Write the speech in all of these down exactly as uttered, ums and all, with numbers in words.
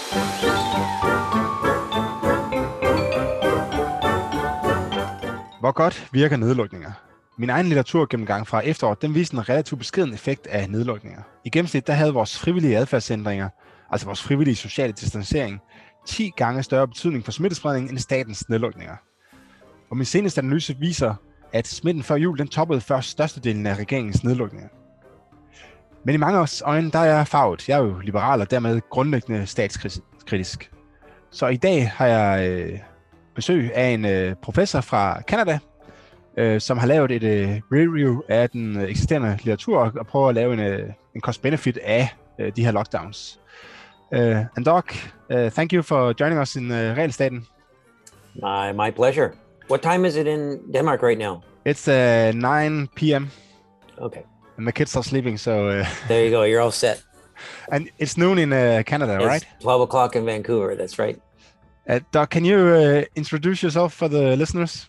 Hvor godt virker nedlukninger? Min egen litteraturgennemgang fra efteråret, den viste en relativt beskeden effekt af nedlukninger. I gennemsnit der havde vores frivillige adfærdsændringer, altså vores frivillige sociale distancering, ti gange større betydning for smittespredning end statens nedlukninger. Og min seneste analyse viser, at smitten før jul den toppede først størstedelen af regeringens nedlukninger. Men i mange års øjne, der er jeg farvet. Jeg er jo liberal og dermed grundlæggende statskritisk. Så i dag har jeg øh, besøg af en øh, professor fra Canada, øh, som har lavet et øh, review af den eksisterende litteratur og prøver at lave en, øh, en cost-benefit af øh, de her lockdowns. Uh, and Doc, uh, thank you for joining us in uh, Realstaten. My, my pleasure. What time is it in Denmark right now? It's uh, nine p.m. Okay. And the kids are sleeping, so... Uh, there you go, you're all set. And it's noon in uh, Canada, it's right? twelve o'clock in Vancouver, that's right. Uh, Doc, can you uh, introduce yourself for the listeners?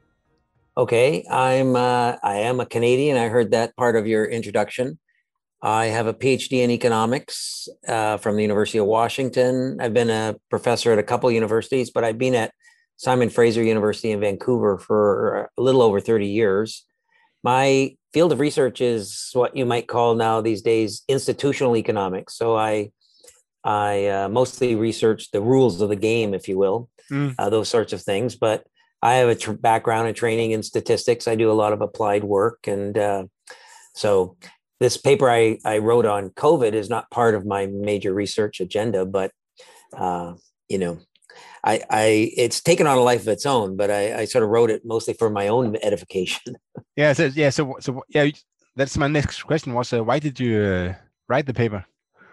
Okay, I'm uh, I am a Canadian. I heard that part of your introduction. I have a PhD in economics uh, from the University of Washington. I've been a professor at a couple universities, but I've been at Simon Fraser University in Vancouver for a little over thirty years. My field of research is what you might call now these days institutional economics. So I I uh, mostly research the rules of the game, if you will, mm. uh, those sorts of things. But I have a tr- background and training in statistics. I do a lot of applied work. And uh, so this paper I, I wrote on COVID is not part of my major research agenda, but, uh, you know, I, I it's taken on a life of its own, but I, I sort of wrote it mostly for my own edification. yeah. So, yeah. So, so yeah, that's my next question was, uh, why did you uh, write the paper?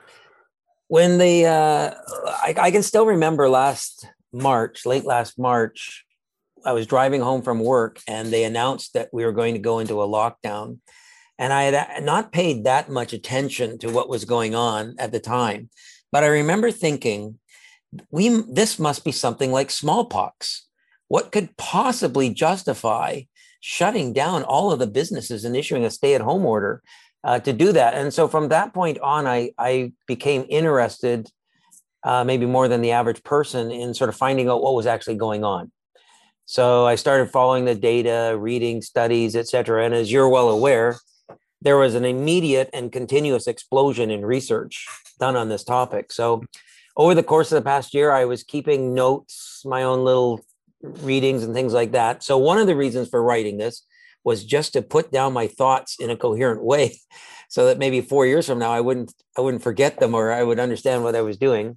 When the, uh, I, I can still remember last March, late last March, I was driving home from work and they announced that we were going to go into a lockdown. And I had not paid that much attention to what was going on at the time. But I remember thinking, we this must be something like smallpox. What could possibly justify shutting down all of the businesses and issuing a stay-at-home order uh, to do that? And so from that point on, I, I became interested, uh, maybe more than the average person, in sort of finding out what was actually going on. So I started following the data, reading studies, et cetera. And as you're well aware, there was an immediate and continuous explosion in research done on this topic. So over the course of the past year, I was keeping notes, my own little readings and things like that. So one of the reasons for writing this was just to put down my thoughts in a coherent way so that maybe four years from now, I wouldn't, I wouldn't forget them, or I would understand what I was doing.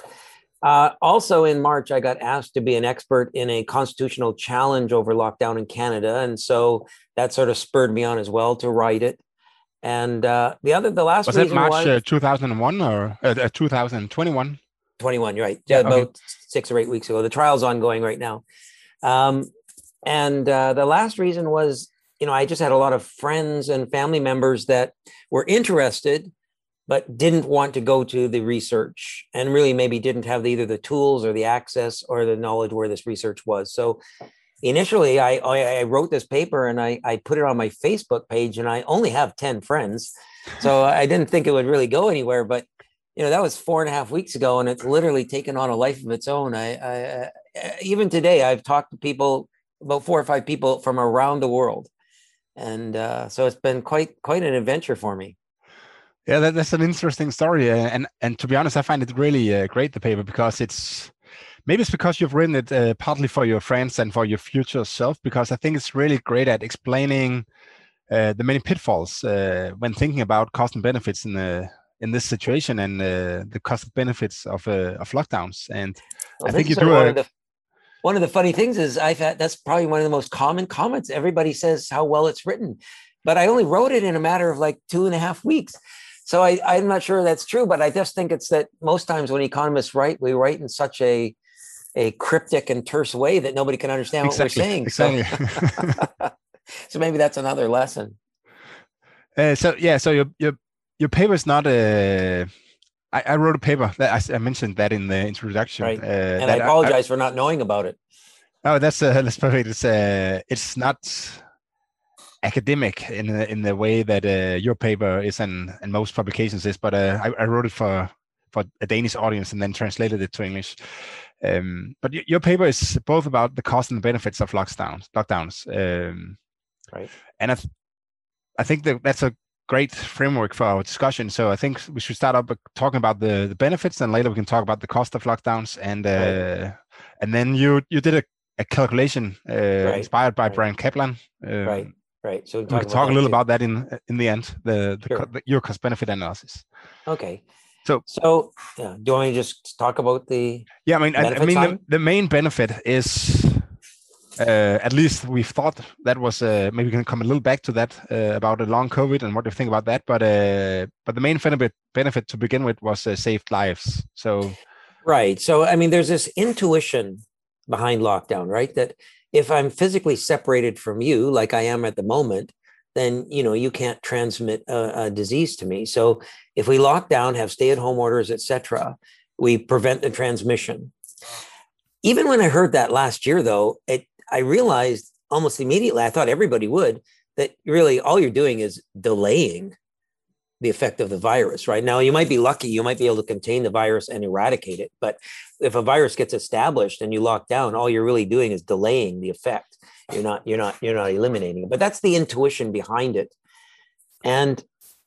Uh, also in March, I got asked to be an expert in a constitutional challenge over lockdown in Canada. And so that sort of spurred me on as well to write it. And uh, the other, the last was reason it March was, uh, two thousand one or uh, two thousand twenty-one? twenty-one, right? Yeah, about okay. six or eight weeks ago. The trial's ongoing right now. Um, and uh, the last reason was, you know, I just had a lot of friends and family members that were interested, but didn't want to go to the research and really maybe didn't have either the tools or the access or the knowledge where this research was. So initially, I, I, I wrote this paper and I, I put it on my Facebook page, and I only have ten friends. So I didn't think it would really go anywhere. But, you know, that was four and a half weeks ago, and it's literally taken on a life of its own. I, I, even today, I've talked to people, about four or five people from around the world. And uh, so it's been quite quite an adventure for me. Yeah, that, that's an interesting story. Uh, and, and to be honest, I find it really uh, great, the paper, because it's, maybe it's because you've written it uh, partly for your friends and for your future self, because I think it's really great at explaining uh, the many pitfalls uh, when thinking about cost and benefits in the in this situation, and uh, the cost and benefits of uh, of lockdowns. And well, I think you do one a, of the one of the funny things is I've had, that's probably one of the most common comments. Everybody says how well it's written, but I only wrote it in a matter of like two and a half weeks. So I, I'm not sure that's true, but I just think it's that most times when economists write, we write in such a a cryptic and terse way that nobody can understand exactly, what we're saying. Exactly. So, so maybe that's another lesson. Uh, so yeah, so your your your paper is not a. I, I wrote a paper that I, I mentioned that in the introduction. Right. Uh, and I apologize I, for not knowing about it. Oh, that's uh, that's perfect. It's uh, it's not academic in the, in the way that uh, your paper is and, and most publications is, but uh, I, I wrote it for for a Danish audience and then translated it to English. Um, but y- your paper is both about the cost and the benefits of lockdowns. Lockdowns, um, Right. and I, th- I think that that's a great framework for our discussion. So I think we should start up by talking about the, the benefits, and later we can talk about the cost of lockdowns. And uh, Right. and then you you did a, a calculation uh, Right. inspired by Right. Brian Kaplan. Um, Right. Right. So we we can can talk talk about a that little too. about that in in the end. The, the, Sure. co- the your cost benefit analysis. Okay. So So yeah, do you want me to just talk about the yeah, I mean, I, I benefit mean, the, side? the main benefit is. Uh, at least we've thought that was uh, maybe we can come a little back to that uh, about the long COVID and what do you think about that. But uh, but the main benefit benefit to begin with was uh, saved lives. So Right. So, I mean, there's this intuition behind lockdown, right? That if I'm physically separated from you, like I am at the moment, then, you know, you can't transmit a, a disease to me. So if we lock down, have stay-at-home orders, et cetera, we prevent the transmission. Even when I heard that last year, though, it, I realized almost immediately, I thought everybody would, that really all you're doing is delaying the effect of the virus. Right now, you might be lucky, you might be able to contain the virus and eradicate it. But if a virus gets established and you lock down, all you're really doing is delaying the effect. You're not, you're not, you're not eliminating it. But that's the intuition behind it. And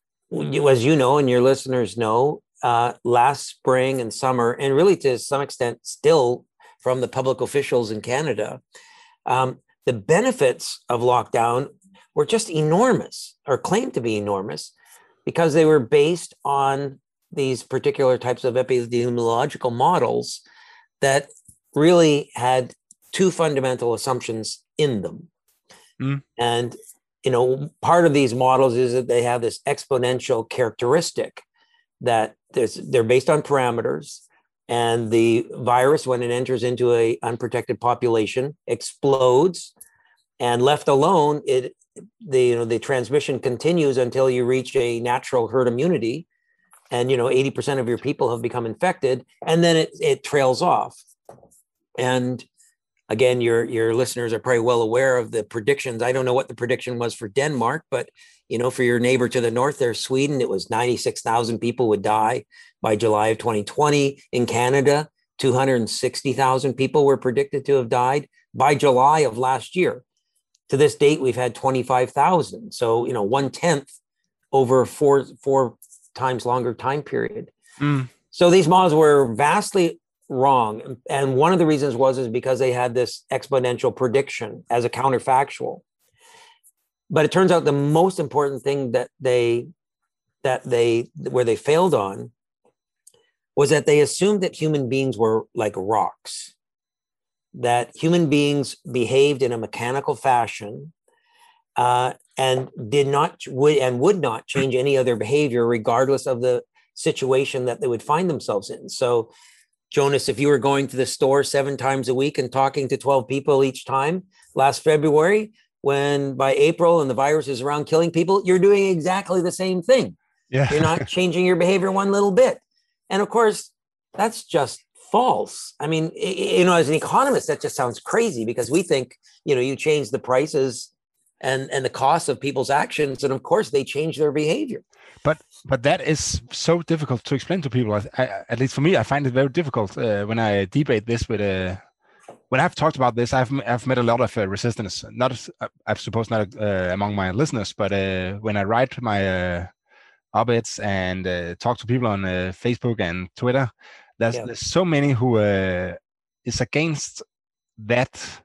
as you know, and your listeners know, uh, last spring and summer, and really to some extent still from the public officials in Canada, um, the benefits of lockdown were just enormous, or claimed to be enormous, because they were based on these particular types of epidemiological models that really had two fundamental assumptions in them. Mm. And, you know, part of these models is that they have this exponential characteristic that they're based on parameters, and the virus, when it enters into an unprotected population, explodes, and left alone, it the you know the transmission continues until you reach a natural herd immunity, and you know eighty percent of your people have become infected, and then it it trails off. And again, your your listeners are probably well aware of the predictions. I don't know what the prediction was for Denmark, but you know, for your neighbor to the north there, Sweden, it was ninety-six thousand people would die by July of twenty twenty. In Canada, two hundred sixty thousand people were predicted to have died by July of last year. To this date, we've had twenty-five thousand. So, you know, one tenth over four, four times longer time period. Mm. So these models were vastly wrong. And one of the reasons was is because they had this exponential prediction as a counterfactual. But it turns out the most important thing that they, that they, where they failed on was that they assumed that human beings were like rocks, that human beings behaved in a mechanical fashion uh, and did not would and would not change any of their behavior regardless of the situation that they would find themselves in. So, Jonas, if you were going to the store seven times a week and talking to twelve people each time last February, when by April and the virus is around killing people, you're doing exactly the same thing. Yeah. You're not changing your behavior one little bit. And of course, that's just false. I mean, you know, as an economist, that just sounds crazy, because we think, you know, you change the prices and, and the cost of people's actions, and of course they change their behavior. But but that is so difficult to explain to people. I, I, at least for me, I find it very difficult uh, when I debate this with a. Uh, when I've talked about this, I've I've met a lot of uh, resistance. Not, I suppose, not uh, among my listeners, but uh, when I write my uh, op-eds and uh, talk to people on uh, Facebook and Twitter, there's yeah. there's so many who uh, is against that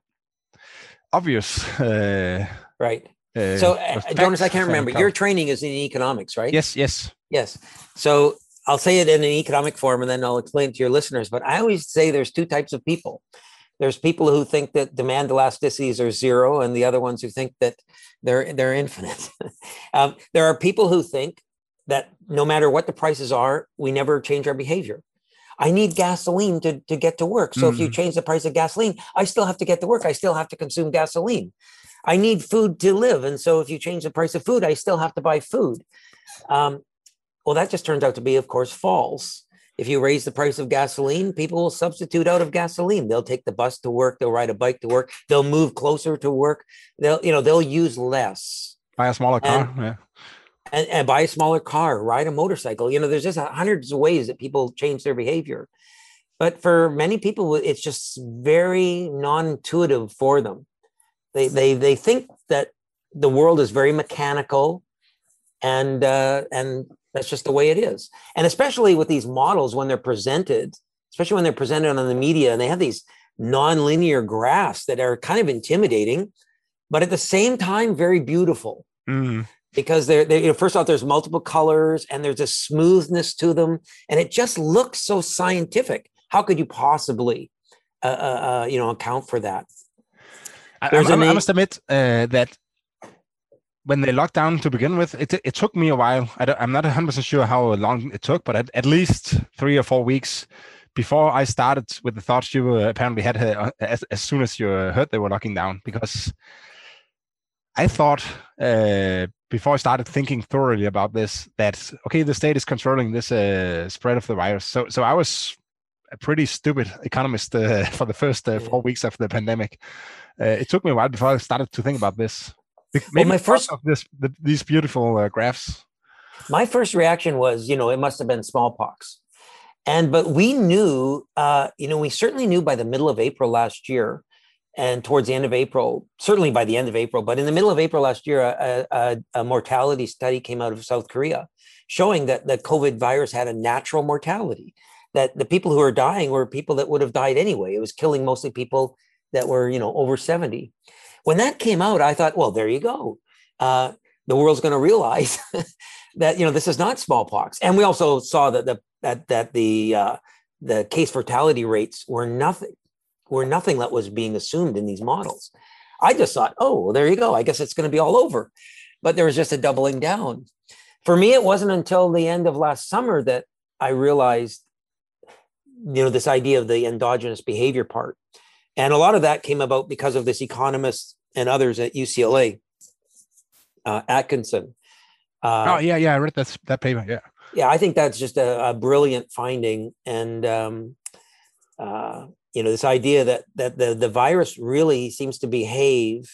obvious. Uh, right. Uh, so, uh, Jonas, I can't remember. Your training is in economics, right? Yes, yes. Yes. So I'll say it in an economic form, and then I'll explain it to your listeners. But I always say there's two types of people. There's people who think that demand elasticities are zero, and the other ones who think that they're they're infinite. um, there are people who think that no matter what the prices are, we never change our behavior. I need gasoline to, to get to work. So mm. if you change the price of gasoline, I still have to get to work. I still have to consume gasoline. I need food to live. And so if you change the price of food, I still have to buy food. Um, well, that just turns out to be, of course, false. If you raise the price of gasoline, people will substitute out of gasoline. They'll take the bus to work. They'll ride a bike to work. They'll move closer to work. They'll, you know, they'll use less. Buy a smaller car. And, yeah. and, and buy a smaller car, ride a motorcycle. You know, there's just hundreds of ways that people change their behavior. But for many people, it's just very non-intuitive for them. They they they think that the world is very mechanical, and uh, and that's just the way it is. And especially with these models, when they're presented, especially when they're presented on the media, and they have these non-linear graphs that are kind of intimidating, but at the same time very beautiful. Mm. Because they're, they're you know, first off, there's multiple colors and there's a smoothness to them, and it just looks so scientific. How could you possibly, uh, uh, you know, account for that? I, I, I must admit uh, that when they locked down to begin with, it it took me a while. I I'm not one hundred percent sure how long it took, but at, at least three or four weeks before I started with the thoughts you uh, apparently had uh, as, as soon as you heard they were locking down, because I thought uh, before I started thinking thoroughly about this that, okay, the state is controlling this uh, spread of the virus. So so I was a pretty stupid economist uh, for the first uh, four weeks of the pandemic. Uh, it took me a while before I started to think about this. Maybe well, my first of this, the, these beautiful uh, graphs. My first reaction was, you know, it must have been smallpox. And but we knew, uh, you know, we certainly knew by the middle of April last year, and towards the end of April, certainly by the end of April, but in the middle of April last year, a, a, a mortality study came out of South Korea showing that the COVID virus had a natural mortality, that the people who are dying were people that would have died anyway. It was killing mostly people that were, you know, over seventy. When that came out, I thought, well, there you go. Uh, the world's going to realize that, you know, this is not smallpox. And we also saw that the that that the uh, the case fatality rates were nothing, were nothing that was being assumed in these models. I just thought, oh, well, there you go. I guess it's going to be all over. But there was just a doubling down. For me, it wasn't until the end of last summer that I realized, you know, this idea of the endogenous behavior part. And a lot of that came about because of this economist and others at U C L A, uh, Atkinson. Uh, oh, yeah, yeah, I read that, that paper, yeah. Yeah, I think that's just a, a brilliant finding. And, um, uh, you know, this idea that that the, the virus really seems to behave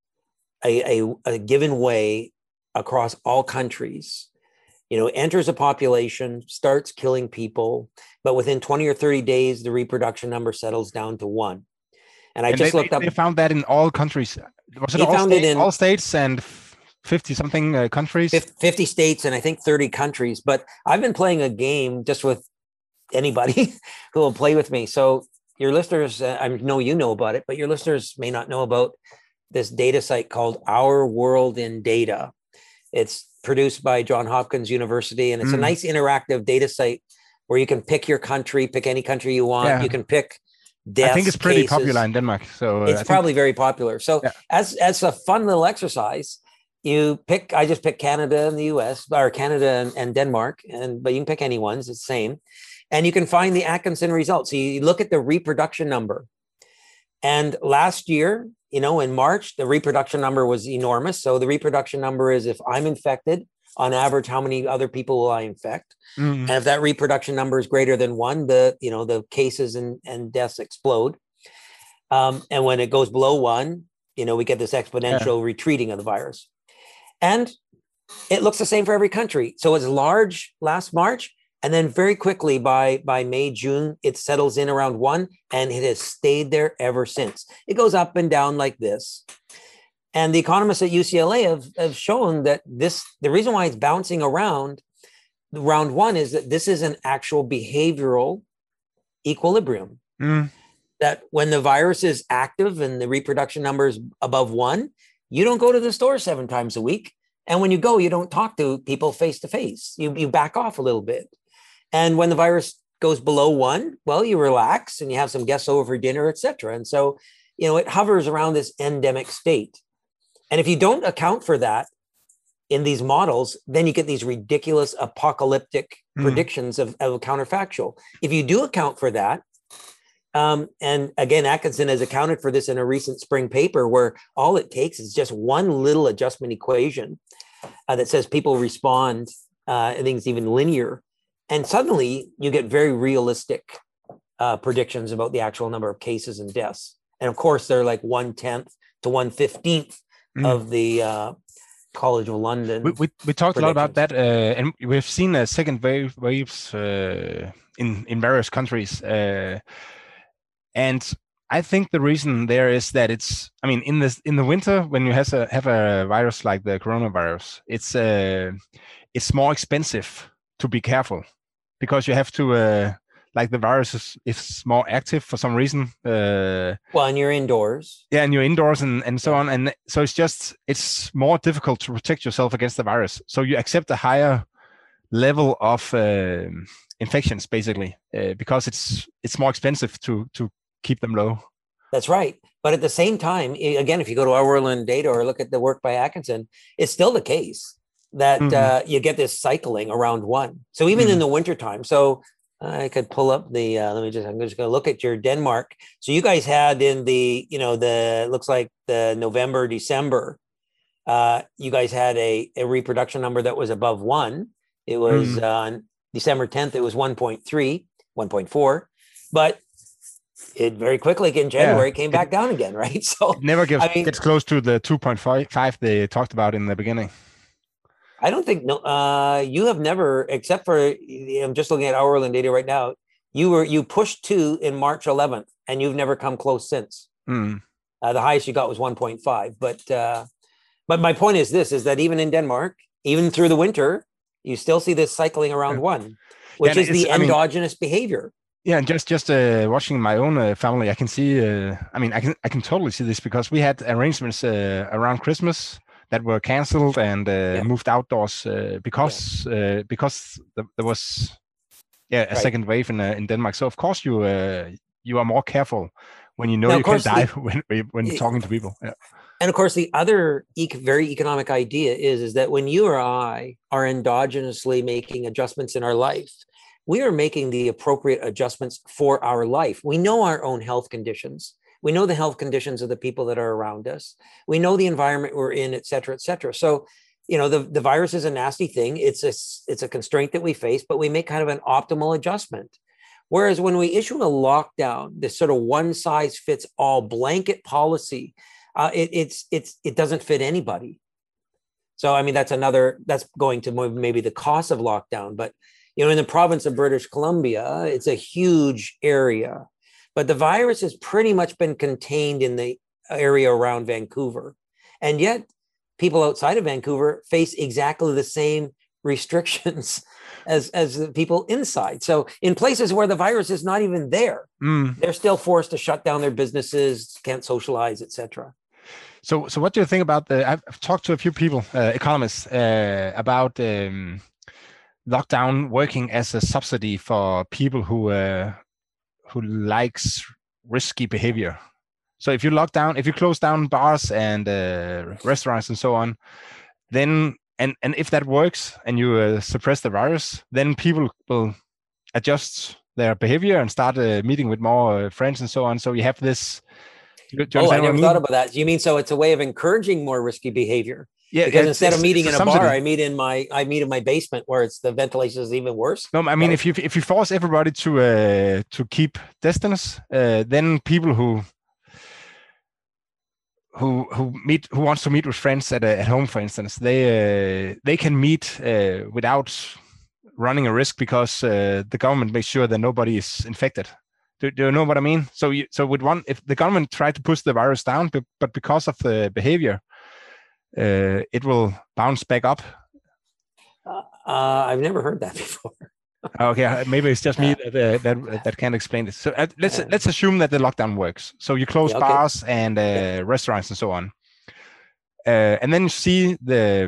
a, a, a given way across all countries. You know, enters a population, starts killing people, but within twenty or thirty days, the reproduction number settles down to one. And I and just they, looked they, up. They found that in all countries. Was it he all, found states, it in all states and fifty something uh, countries? fifty states and I think thirty countries. But I've been playing a game just with anybody who will play with me. So your listeners, uh, I know you know about it, but your listeners may not know about this data site called Our World in Data. It's produced by Johns Hopkins University, and it's mm. a nice interactive data site where you can pick your country, pick any country you want. Yeah. You can pick deaths, I think it's pretty cases. popular in Denmark. So uh, it's I probably think... very popular. So yeah. as as a fun little exercise, you pick. I just picked Canada and the U S, or Canada and, and Denmark, and but you can pick any ones. It's the same, and you can find the Atkinson results. So you look at the reproduction number, and last year, you know, in March, the reproduction number was enormous. So the reproduction number is if I'm infected, on average, how many other people will I infect? Mm-hmm. And if that reproduction number is greater than one, the, you know, the cases and, and deaths explode. Um, and when it goes below one, you know, we get this exponential yeah. retreating of the virus. And it looks the same for every country. So it's large last March. And then very quickly by, by May, June, it settles in around one, and it has stayed there ever since. It goes up and down like this. And the economists at U C L A have, have shown that this, the reason why it's bouncing around round one is that this is an actual behavioral equilibrium. Mm. That when the virus is active and the reproduction number is above one, you don't go to the store seven times a week. And when you go, you don't talk to people face to face. You, you back off a little bit. And when the virus goes below one, well, you relax and you have some guests over for dinner, et cetera. And so, you know, it hovers around this endemic state. And if you don't account for that in these models, then you get these ridiculous apocalyptic mm. predictions of, of counterfactual. If you do account for that, um, and again, Atkinson has accounted for this in a recent spring paper where all it takes is just one little adjustment equation uh, that says people respond, uh, I think it's even linear. And suddenly you get very realistic uh, predictions about the actual number of cases and deaths. And of course, they're like one tenth to one fifteenth mm. of the uh, College of London. We we, we talked a lot about that, uh, and we've seen a second wave waves uh, in in various countries, uh, and I think the reason there is that it's. I mean, in this in the winter when you have a have a virus like the coronavirus, it's uh, it's more expensive to be careful because you have to. Uh, like the virus is, is more active for some reason. Uh, well, and you're indoors. Yeah, and you're indoors and, and so on. And so it's just, it's more difficult to protect yourself against the virus. So you accept a higher level of uh, infections, basically, uh, because it's it's more expensive to to keep them low. That's right. But at the same time, again, if you go to Our World in Data or look at the work by Atkinson, it's still the case that mm-hmm. uh, you get this cycling around one. So even mm-hmm. in the wintertime, so I could pull up the, uh, let me just, I'm just going to look at your Denmark. So you guys had in the, you know, the, looks like the November, December, uh, you guys had a, a reproduction number that was above one. It was mm. uh, on December tenth, it was one point three, one point four, but it very quickly in January yeah, came back it, down again, right? So it never gets, I mean, gets close to the two point five they talked about in the beginning. I don't think no. Uh, you have never, except for I'm just looking at Our World in Data right now. You were you pushed two in March eleventh, and you've never come close since. Mm. Uh, the highest you got was one point five. But uh, but my point is this: is that even in Denmark, even through the winter, you still see this cycling around yeah. one, which yeah, is the endogenous I mean, behavior. Yeah, and just just uh, watching my own uh, family, I can see. Uh, I mean, I can I can totally see this because we had arrangements uh, around Christmas that were cancelled and uh, yeah. moved outdoors uh, because yeah. uh, because the, there was yeah a right. second wave in uh, in Denmark. So of course you uh, you are more careful when you know now, you can die the, when when it, talking to people. Yeah. And of course, the other ec- very economic idea is is that when you or I are endogenously making adjustments in our life, we are making the appropriate adjustments for our life. We know our own health conditions. We know the health conditions of the people that are around us. We know the environment we're in, et cetera, et cetera. So, you know, the, the virus is a nasty thing. It's a, it's a constraint that we face, but we make kind of an optimal adjustment. Whereas when we issue a lockdown, this sort of one size fits all blanket policy, uh, it, it's, it's, it doesn't fit anybody. So, I mean, that's another, that's going to maybe the cost of lockdown, but, you know, in the province of British Columbia, it's a huge area. But the virus has pretty much been contained in the area around Vancouver. And yet people outside of Vancouver face exactly the same restrictions as, as the people inside. So in places where the virus is not even there, mm. they're still forced to shut down their businesses, can't socialize, et cetera. So, so what do you think about the, I've talked to a few people, uh, economists, uh, about um, lockdown working as a subsidy for people who, uh, who likes risky behavior. So if you lock down, if you close down bars and uh, restaurants and so on, then, and, and if that works and you uh, suppress the virus, then people will adjust their behavior and start uh, meeting with more uh, friends and so on. So you have this. Do, do oh, I never I mean? thought about that. You mean, so it's a way of encouraging more risky behavior? Yeah, because instead of meeting in a bar, I meet in my I meet in my basement where it's the ventilation is even worse. No, I mean so, if you if you force everybody to uh, to keep distance, uh, then people who who who meet who wants to meet with friends at a, at home, for instance, they uh, they can meet uh, without running a risk because uh, the government makes sure that nobody is infected. Do, do you know what I mean? So you, so with one, if the government tried to push the virus down, but, but because of the behavior, Uh, it will bounce back up. Uh, uh, I've never heard that before. Okay, maybe it's just me uh, that uh, that that can't explain it. So uh, let's uh, let's assume that the lockdown works. So you close yeah, okay. bars and uh, yeah. restaurants and so on, uh, and then you see the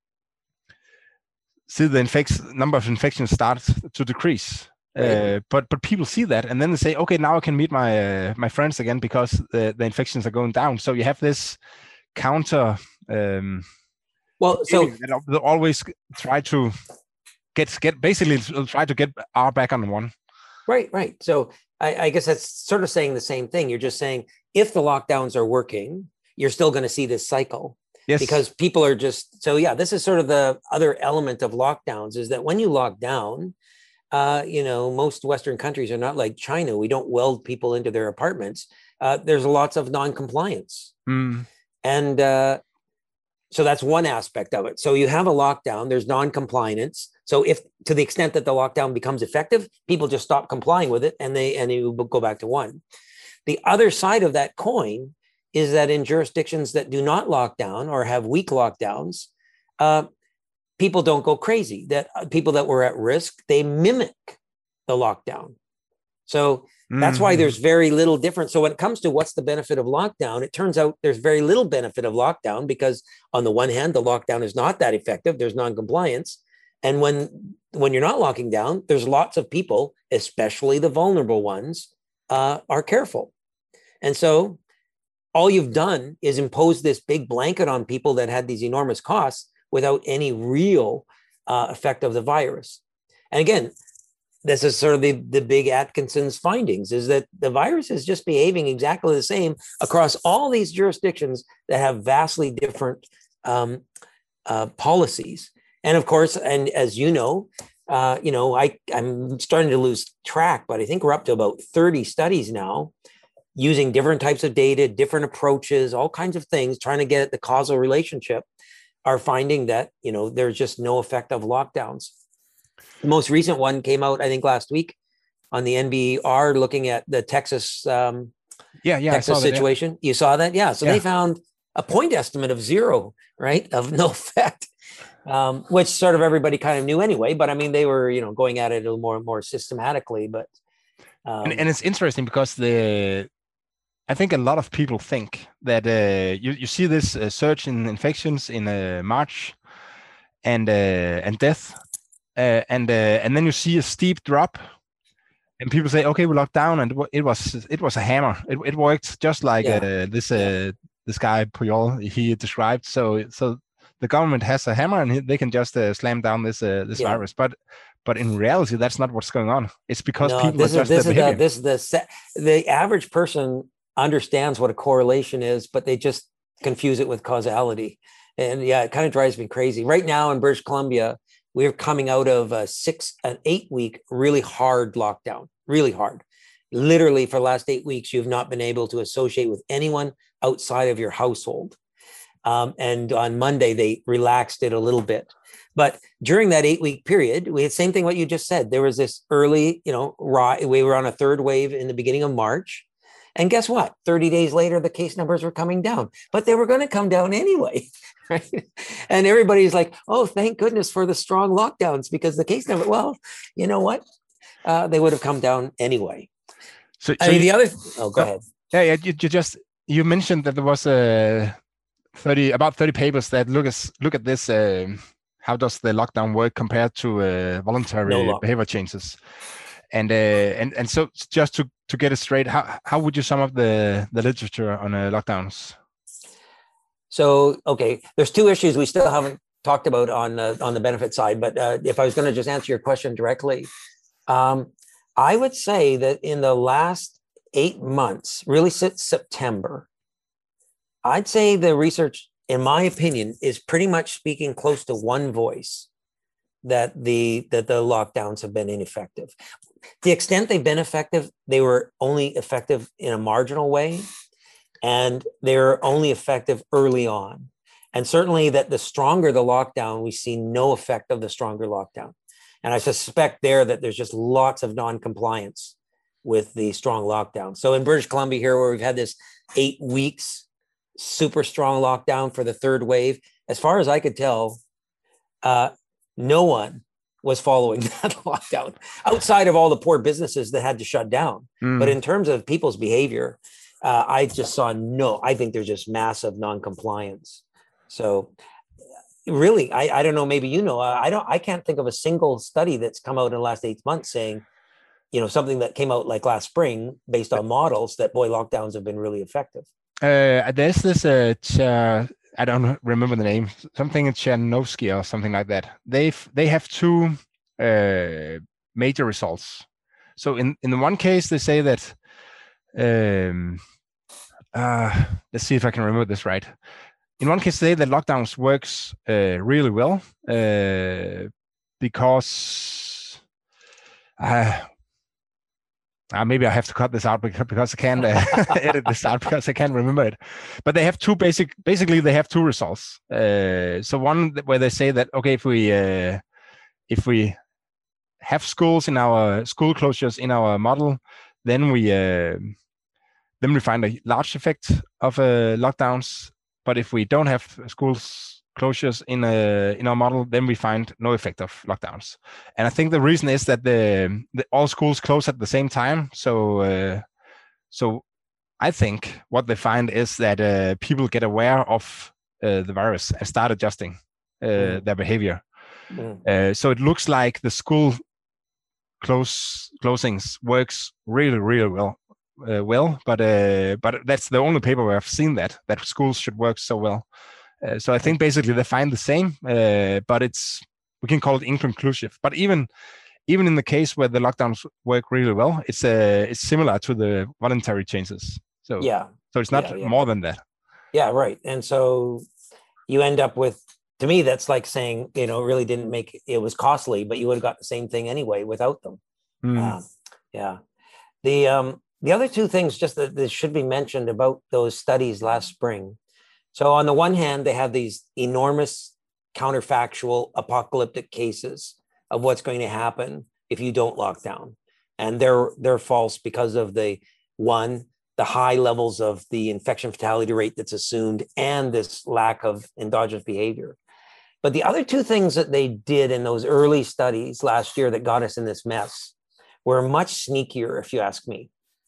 see the infects number of infections start to decrease. Right. Uh, but but people see that and then they say, okay, now I can meet my uh, my friends again because the, the infections are going down. So you have this counter. Um, well, so they'll always try to get get basically try to get R back on one. Right, right. So I, I guess that's sort of saying the same thing. You're just saying if the lockdowns are working, you're still going to see this cycle. Yes. Because people are just so yeah. This is sort of the other element of lockdowns is that when you lock down, uh, you know, most Western countries are not like China. We don't weld people into their apartments. Uh, there's lots of non-compliance, mm. and. Uh, so that's one aspect of it. So you have a lockdown, there's non-compliance. So if to the extent that the lockdown becomes effective, people just stop complying with it and they and you go back to one. The other side of that coin is that in jurisdictions that do not lock down or have weak lockdowns, uh, people don't go crazy. That uh, people that were at risk, they mimic the lockdown. So that's mm-hmm. why there's very little difference. So when it comes to what's the benefit of lockdown, it turns out there's very little benefit of lockdown because on the one hand, the lockdown is not that effective. There's non-compliance. And when, when you're not locking down, there's lots of people, especially the vulnerable ones, uh, are careful. And so all you've done is impose this big blanket on people that had these enormous costs without any real uh, effect of the virus. And again, this is sort of the, the big Atkinson's findings, is that the virus is just behaving exactly the same across all these jurisdictions that have vastly different um, uh, policies. And of course, and as you know, uh, you know, I, I'm starting to lose track, but I think we're up to about thirty studies now using different types of data, different approaches, all kinds of things, trying to get at the causal relationship, are finding that, you know, there's just no effect of lockdowns. The most recent one came out, I think, last week on the N B R, looking at the Texas, um, yeah, yeah, Texas that, situation. Yeah. You saw that? Yeah. So yeah. They found a point estimate of zero, right? Of no effect, um, which sort of everybody kind of knew anyway. But I mean, they were, you know, going at it a little more, more systematically. But um, and, and it's interesting because the, I think a lot of people think that uh, you, you see this uh, surge in infections in uh, March and uh, and death. Uh, and uh, and then you see a steep drop, and people say, "Okay, we locked down," and it was it was a hammer. It it worked just like yeah. uh, this uh, yeah. this guy Puyol he described. So so the government has a hammer, and they can just uh, slam down this uh, this yeah. virus. But but in reality, that's not what's going on. It's because no, people this are is, just this their is behavior. The, this is the the average person understands what a correlation is, but they just confuse it with causality. And yeah, it kind of drives me crazy. Right now in British Columbia, we're coming out of a six, an eight week, really hard lockdown, really hard. Literally for the last eight weeks, you've not been able to associate with anyone outside of your household. Um, and on Monday, they relaxed it a little bit. But during that eight week period, we had same thing what you just said. There was this early, you know, we were on a third wave in the beginning of March. And guess what? thirty days later, the case numbers were coming down, but they were going to come down anyway. Right? And everybody's like, oh, thank goodness for the strong lockdowns, because the case number, well, you know what? Uh, they would have come down anyway. So, I so mean, you, the other, oh, go uh, ahead. Yeah, yeah. You, you just, you mentioned that there was a thirty, about thirty papers that look at, look at this, uh, how does the lockdown work compared to uh, voluntary no behavior changes? And uh, and and so just to, to get it straight, how how would you sum up the, the literature on uh, lockdowns? So, okay, there's two issues we still haven't talked about on uh, on the benefit side, but uh, if I was going to just answer your question directly, um, I would say that in the last eight months, really since September, I'd say the research, in my opinion, is pretty much speaking close to one voice, that the that the lockdowns have been ineffective. The extent they've been effective, they were only effective in a marginal way. And they're only effective early on. And certainly that the stronger the lockdown, we see no effect of the stronger lockdown. And I suspect there that there's just lots of non-compliance with the strong lockdown. So in British Columbia here, where we've had this eight weeks, super strong lockdown for the third wave, as far as I could tell, uh, no one was following that lockdown outside of all the poor businesses that had to shut down. Mm. But in terms of people's behavior, Uh, I just saw no, I think there's just massive non-compliance. So really, I, I don't know, maybe, you know, I don't, I can't think of a single study that's come out in the last eight months saying, you know, something that came out like last spring based on models that, boy, lockdowns have been really effective. Uh, there's this, uh, ch- I don't remember the name, something in Chernovsky or something like that. They've, they have two uh, major results. So in, in the one case, they say that, um, uh, let's see if I can remember this right. In one case, they say that lockdowns works uh, really well uh, because uh, Uh, maybe I have to cut this out because, because I can't uh, edit this out because I can't remember it. But they have two basic, basically they have two results. Uh, so one where they say that, okay, if we, uh, if we have schools in our school closures in our model, then we, uh, then we find a large effect of uh, lockdowns. But if we don't have schools closures in a, in our model, then we find no effect of lockdowns. And I think the reason is that the, the all schools close at the same time. So uh, so I think what they find is that uh, people get aware of uh, the virus and start adjusting uh, mm. their behavior. Mm. Uh, so it looks like the school close closings works really really well. Uh, well, but uh, but that's the only paper where I've seen that that schools should work so well. Uh, so I think basically they find the same, uh, but it's we can call it inconclusive. But even even in the case where the lockdowns work really well, it's uh, it's similar to the voluntary changes. So yeah, so it's not yeah, yeah. more than that. Yeah, right. And so you end up with, to me, that's like saying, you know, it really didn't make it was costly, but you would have got the same thing anyway without them. Mm. Uh, yeah. The um the other two things just that, that should be mentioned about those studies last spring. So on the one hand, they have these enormous counterfactual apocalyptic cases of what's going to happen if you don't lock down. And they're they're false because of the one, the high levels of the infection fatality rate that's assumed and this lack of endogenous behavior. But the other two things that they did in those early studies last year that got us in this mess were much sneakier, if you ask me.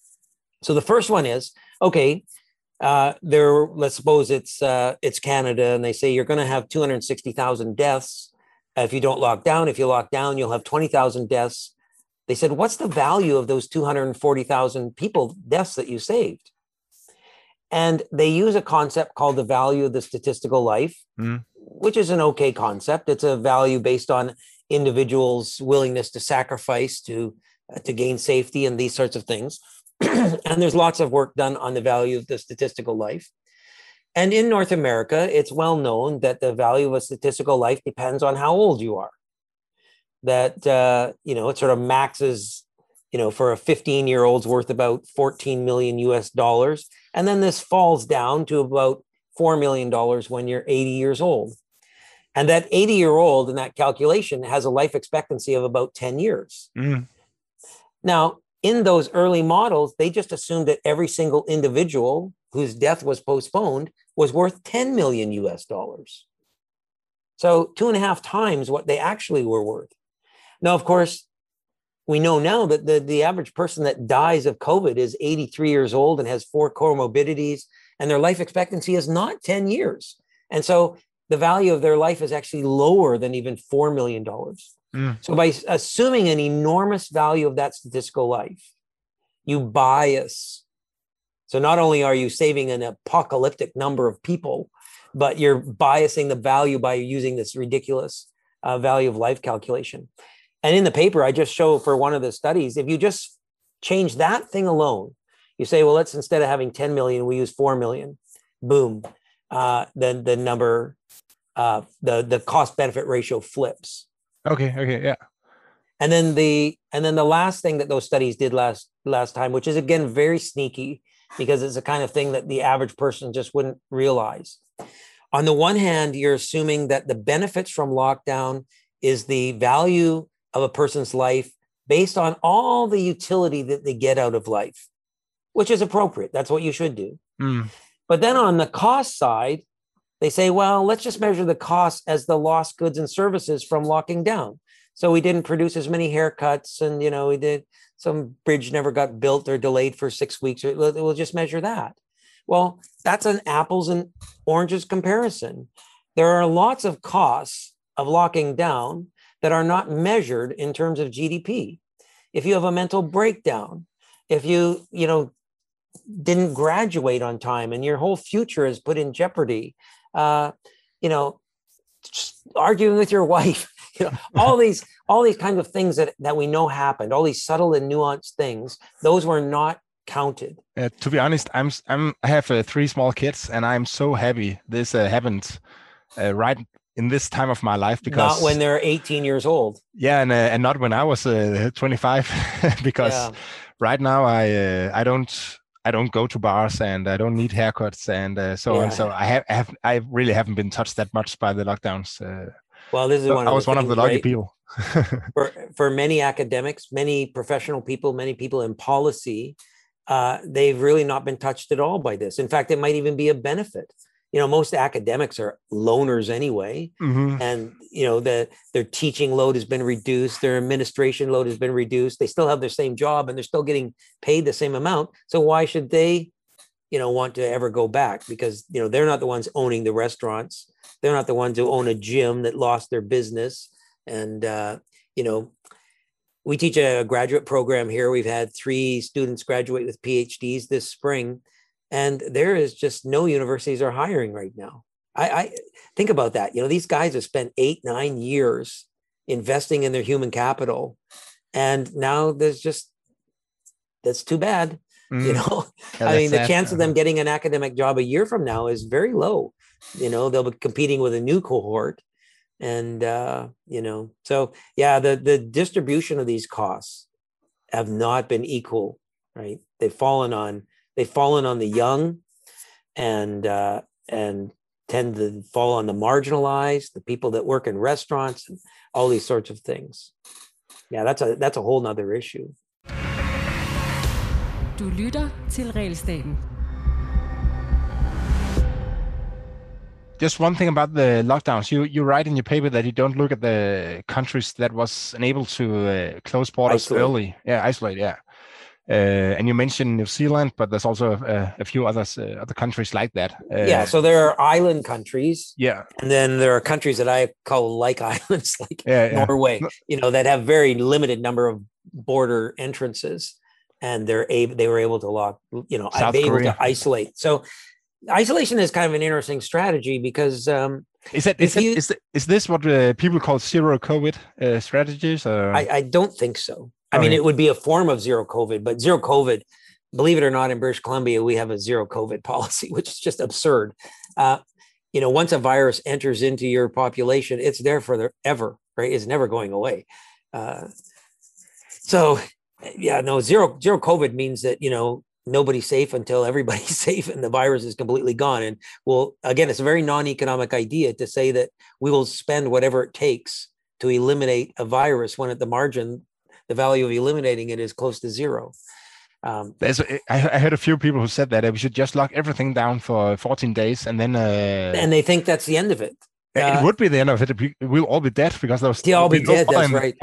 So the first one is, okay, Uh, there, let's suppose it's uh, it's Canada, and they say you're going to have two hundred sixty thousand deaths if you don't lock down. If you lock down, you'll have twenty thousand deaths. They said, what's the value of those two hundred forty thousand people deaths that you saved? And they use a concept called the value of the statistical life, mm. which is an okay concept. It's a value based on individuals' willingness to sacrifice to uh, to gain safety and these sorts of things. And there's lots of work done on the value of the statistical life. And in North America, it's well known that the value of a statistical life depends on how old you are. That, uh, you know, it sort of maxes, you know, for a fifteen year old's worth about fourteen million U S dollars. And then this falls down to about four million dollars when you're eighty years old. And that eighty year old in that calculation has a life expectancy of about ten years. Mm. Now, in those early models, they just assumed that every single individual whose death was postponed was worth ten million U S dollars. So two and a half times what they actually were worth. Now, of course, we know now that the, the average person that dies of COVID is eighty-three years old and has four comorbidities, and their life expectancy is not ten years. And so the value of their life is actually lower than even four million dollars. Mm. So by assuming an enormous value of that statistical life, you bias. So not only are you saving an apocalyptic number of people, but you're biasing the value by using this ridiculous uh, value of life calculation. And in the paper, I just show for one of the studies, if you just change that thing alone, you say, well, let's instead of having ten million, we use four million. Boom. Uh, then the number, uh, the, the cost benefit ratio flips. Okay. Okay. Yeah. And then the and then the last thing that those studies did last last time, which is again very sneaky because it's the kind of thing that the average person just wouldn't realize. On the one hand, you're assuming that the benefits from lockdown is the value of a person's life based on all the utility that they get out of life, which is appropriate. That's what you should do. Mm. But then on the cost side, they say, well, let's just measure the cost as the lost goods and services from locking down. So we didn't produce as many haircuts, and, you know, we did some bridge never got built or delayed for six weeks. We'll just measure that. Well, that's an apples and oranges comparison. There are lots of costs of locking down that are not measured in terms of G D P. If you have a mental breakdown, if you, you know, didn't graduate on time and your whole future is put in jeopardy, uh, you know, arguing with your wife, you know, all these, all these kinds of things that, that we know happened, all these subtle and nuanced things, those were not counted. Uh, to be honest, I'm, I'm, I have uh, three small kids, and I'm so happy this uh, happened uh, right in this time of my life, because not when they're eighteen years old. Yeah, and uh, and not when I was uh, twenty-five, because yeah. right now I uh, I don't I don't go to bars and I don't need haircuts and uh, so Yeah. on. So I have, I have I really haven't been touched that much by the lockdowns. Uh, Well, this is so one I of was the one of the things, lucky right? people. For for many academics, many professional people, many people in policy, uh, they've really not been touched at all by this. In fact, it might even be a benefit. You know, most academics are loners anyway, Hmm. and you know the their teaching load has been reduced, their administration load has been reduced. They still have their same job, and they're still getting paid the same amount. So why should they, you know, want to ever go back? Because you know they're not the ones owning the restaurants. They're not the ones who own a gym that lost their business. And uh, you know, we teach a graduate program here. We've had three students graduate with PhDs this spring, and there is just no universities are hiring right now. I, I think about that. You know, these guys have spent eight, nine years investing in their human capital, and now there's just that's too bad. Mm. You know, Yeah, I that's mean, the sad. chance of them getting an academic job a year from now is very low. You know, they'll be competing with a new cohort. And, uh, you know, so yeah, the, the distribution of these costs have not been equal, right? They've fallen on, they've fallen on the young and, uh, and tend to fall on the marginalized, the people that work in restaurants and all these sorts of things. Yeah, that's a, that's a whole nother issue. Du lytter til Realstaten. Just one thing about the lockdowns. You you write in your paper that you don't look at the countries that was unable to uh, close borders Isolate. early. Yeah, isolate. Yeah, uh, and you mentioned New Zealand, but there's also uh, a few others, uh, other countries like that. Uh, Yeah, so there are island countries. Yeah. And then there are countries that I call like islands, like Yeah, yeah. Norway, No- you know, that have very limited number of border entrances, and they're able, they were able to lock, you know, South be able Korea. to isolate. So isolation is kind of an interesting strategy because um, Is that if is that, you- is, that, is this what uh, people call zero COVID uh, strategies? Or? I, I don't think so. I mean, Okay. it would be a form of zero COVID, but zero COVID, believe it or not, in British Columbia, we have a zero COVID policy, which is just absurd. Uh, you know, once a virus enters into your population, it's there forever, right? It's never going away. Uh, so, yeah, no, zero zero COVID means that, you know, nobody's safe until everybody's safe and the virus is completely gone. And well, again, it's a very non-economic idea to say that we will spend whatever it takes to eliminate a virus when at the margin, the value of eliminating it is close to zero. Um, There's, I, I heard a few people who said that uh, we should just lock everything down for fourteen days and then. Uh, and they think that's the end of it. it Uh, would be the end of it. We'll all be dead because those. They'll all be no dead, that's fun. right.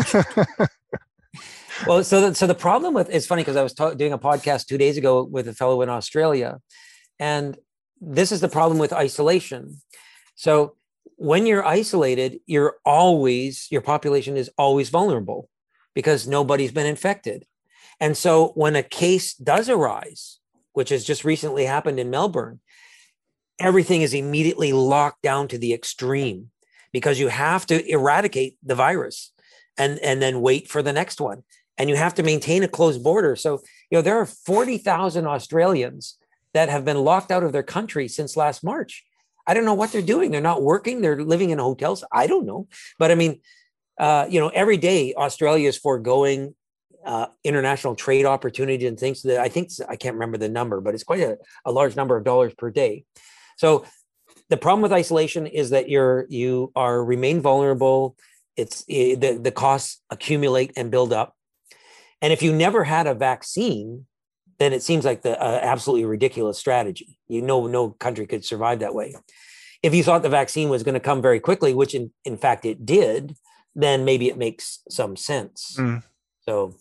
Well, so the, so the problem with it's funny because I was ta- doing a podcast two days ago with a fellow in Australia, and this is the problem with isolation. So when you're isolated, you're always your population is always vulnerable because nobody's been infected, and so when a case does arise, which has just recently happened in Melbourne, everything is immediately locked down to the extreme because you have to eradicate the virus and and then wait for the next one. And you have to maintain a closed border. So, you know, there are forty thousand Australians that have been locked out of their country since last March. I don't know what they're doing. They're not working. They're living in hotels. I don't know. But I mean, uh, you know, every day Australia is foregoing uh, international trade opportunity and things that I think, I can't remember the number, but it's quite a, a large number of dollars per day. So the problem with isolation is that you're, you are remain vulnerable. It's the, the costs accumulate and build up. And if you never had a vaccine, then it seems like the uh, absolutely ridiculous strategy. You know, no country could survive that way. If you thought the vaccine was going to come very quickly, which in, in fact it did, then maybe it makes some sense. Mm. So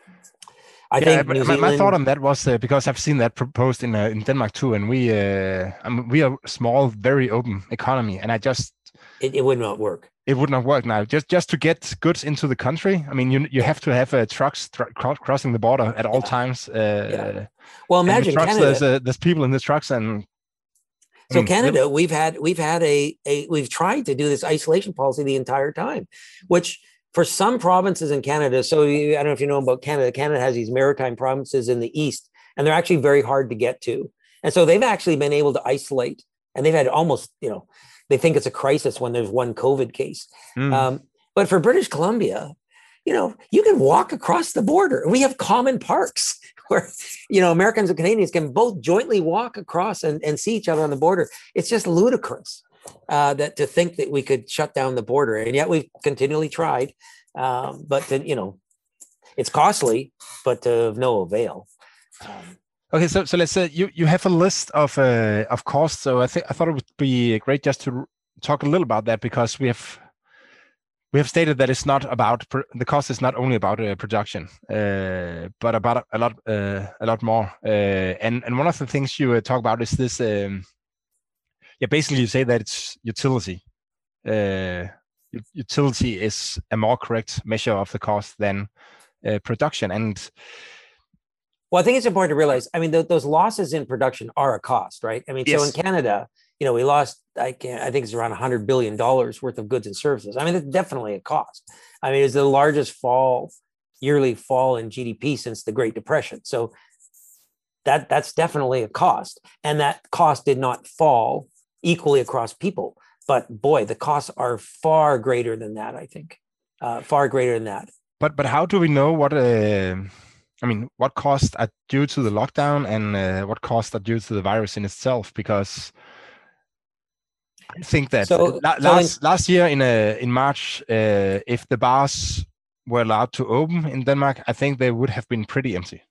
I yeah, think my, New my, Zealand, my thought on that was uh, because I've seen that proposed in uh, in Denmark too, and we uh, I mean, we are a small, very open economy, and I just it, it would not work. It would not work now. Just just to get goods into the country. I mean, you you have to have uh, trucks tr- crossing the border at all Yeah. times. Uh, Yeah. Well, imagine trucks, Canada. There's, uh, there's people in the trucks, and I So mean, Canada, we've had we've had a a we've tried to do this isolation policy the entire time, which for some provinces in Canada. So you, I don't know if you know about Canada. Canada has these maritime provinces in the east, and they're actually very hard to get to. And so they've actually been able to isolate, and they've had almost, you know, they think it's a crisis when there's one COVID case. Mm. Um, but for British Columbia, you know, you can walk across the border. We have common parks where, you know, Americans and Canadians can both jointly walk across and, and see each other on the border. It's just ludicrous uh, that to think that we could shut down the border. And yet we've continually tried. Um, but, to, you know, it's costly, but of no avail. Um, Okay, so so let's say you, you have a list of uh, of costs. So I think I thought it would be great just to talk a little about that, because we have we have stated that it's not about the cost is not only about uh, production, uh, but about a lot uh, a lot more. Uh, and and one of the things you uh, talk about is this. Um, yeah, basically you say that it's utility. Uh, utility is a more correct measure of the cost than uh, production. And well, I think it's important to realize, I mean, th- those losses in production are a cost, right? I mean, yes. So in Canada, you know, we lost, I can't, I think it's around one hundred billion dollars worth of goods and services. I mean, it's definitely a cost. I mean, it's the largest fall, yearly fall in G D P since the Great Depression. So that that's definitely a cost. And that cost did not fall equally across people. But boy, the costs are far greater than that, I think, uh, far greater than that. But but how do we know what... Uh... I mean, what costs are due to the lockdown and uh, what costs are due to the virus in itself? Because I think that so, la- so last in, last year in uh, in March, uh, if the bars were allowed to open in Denmark, I think they would have been pretty empty,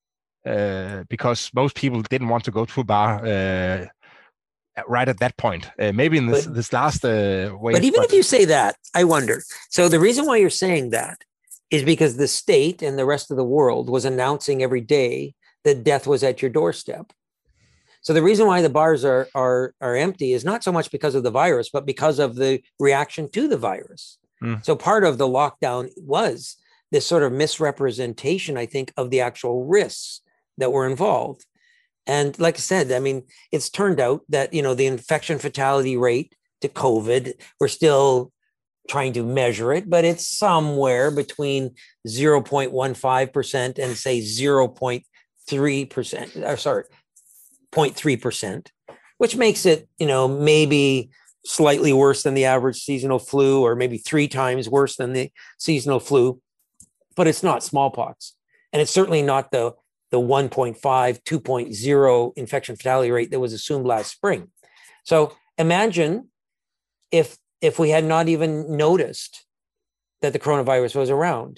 uh, because most people didn't want to go to a bar uh, right at that point. Uh, maybe in this but, this last uh, wave. But even but, if you say that, I wonder. So the reason why you're saying that is because the state and the rest of the world was announcing every day that death was at your doorstep. So the reason why the bars are, are, are empty is not so much because of the virus, but because of the reaction to the virus. Mm. So part of the lockdown was this sort of misrepresentation, I think, of the actual risks that were involved. And like I said, I mean, it's turned out that, you know, the infection fatality rate to COVID, we're still trying to measure it, but it's somewhere between zero point one five percent and say zero point three percent, or sorry, zero point three percent, which makes it, you know, maybe slightly worse than the average seasonal flu, or maybe three times worse than the seasonal flu, but it's not smallpox. And it's certainly not the, the one point five, two point oh infection fatality rate that was assumed last spring. So imagine if if we had not even noticed that the coronavirus was around.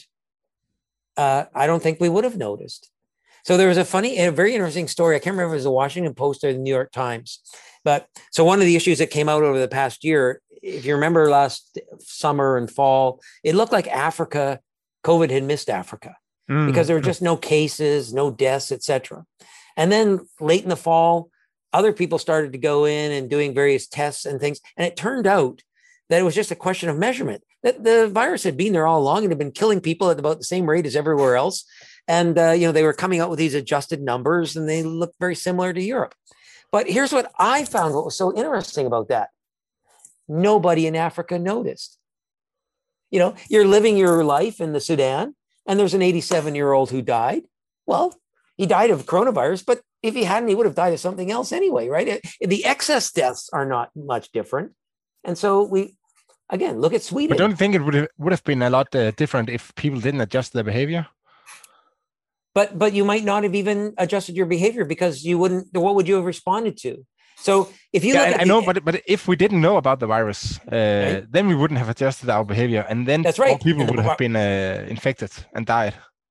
uh, I don't think we would have noticed. So there was a funny, a very interesting story. I can't remember if it was the Washington Post or the New York Times. But so one of the issues that came out over the past year, if you remember last summer and fall, it looked like Africa, COVID had missed Africa mm. because there were just no cases, no deaths, et cetera. And then late in the fall, other people started to go in and doing various tests and things. And it turned out that it was just a question of measurement, that the virus had been there all along and had been killing people at about the same rate as everywhere else. And, uh, you know, they were coming out with these adjusted numbers and they looked very similar to Europe. But here's what I found, what was so interesting about that. Nobody in Africa noticed. You know, you're living your life in the Sudan and there's an eighty-seven-year-old who died. Well, he died of coronavirus, but if he hadn't, he would have died of something else anyway, right? It, the excess deaths are not much different. And so we, again, look at Sweden. But don't you think it would have, would have been a lot uh, different if people didn't adjust their behavior? But but you might not have even adjusted your behavior because you wouldn't, what would you have responded to? So if you yeah, look I, at I the, know, but but if we didn't know about the virus, uh, right? then we wouldn't have adjusted our behavior, and then That's right. more people and would the, have been uh, infected and died.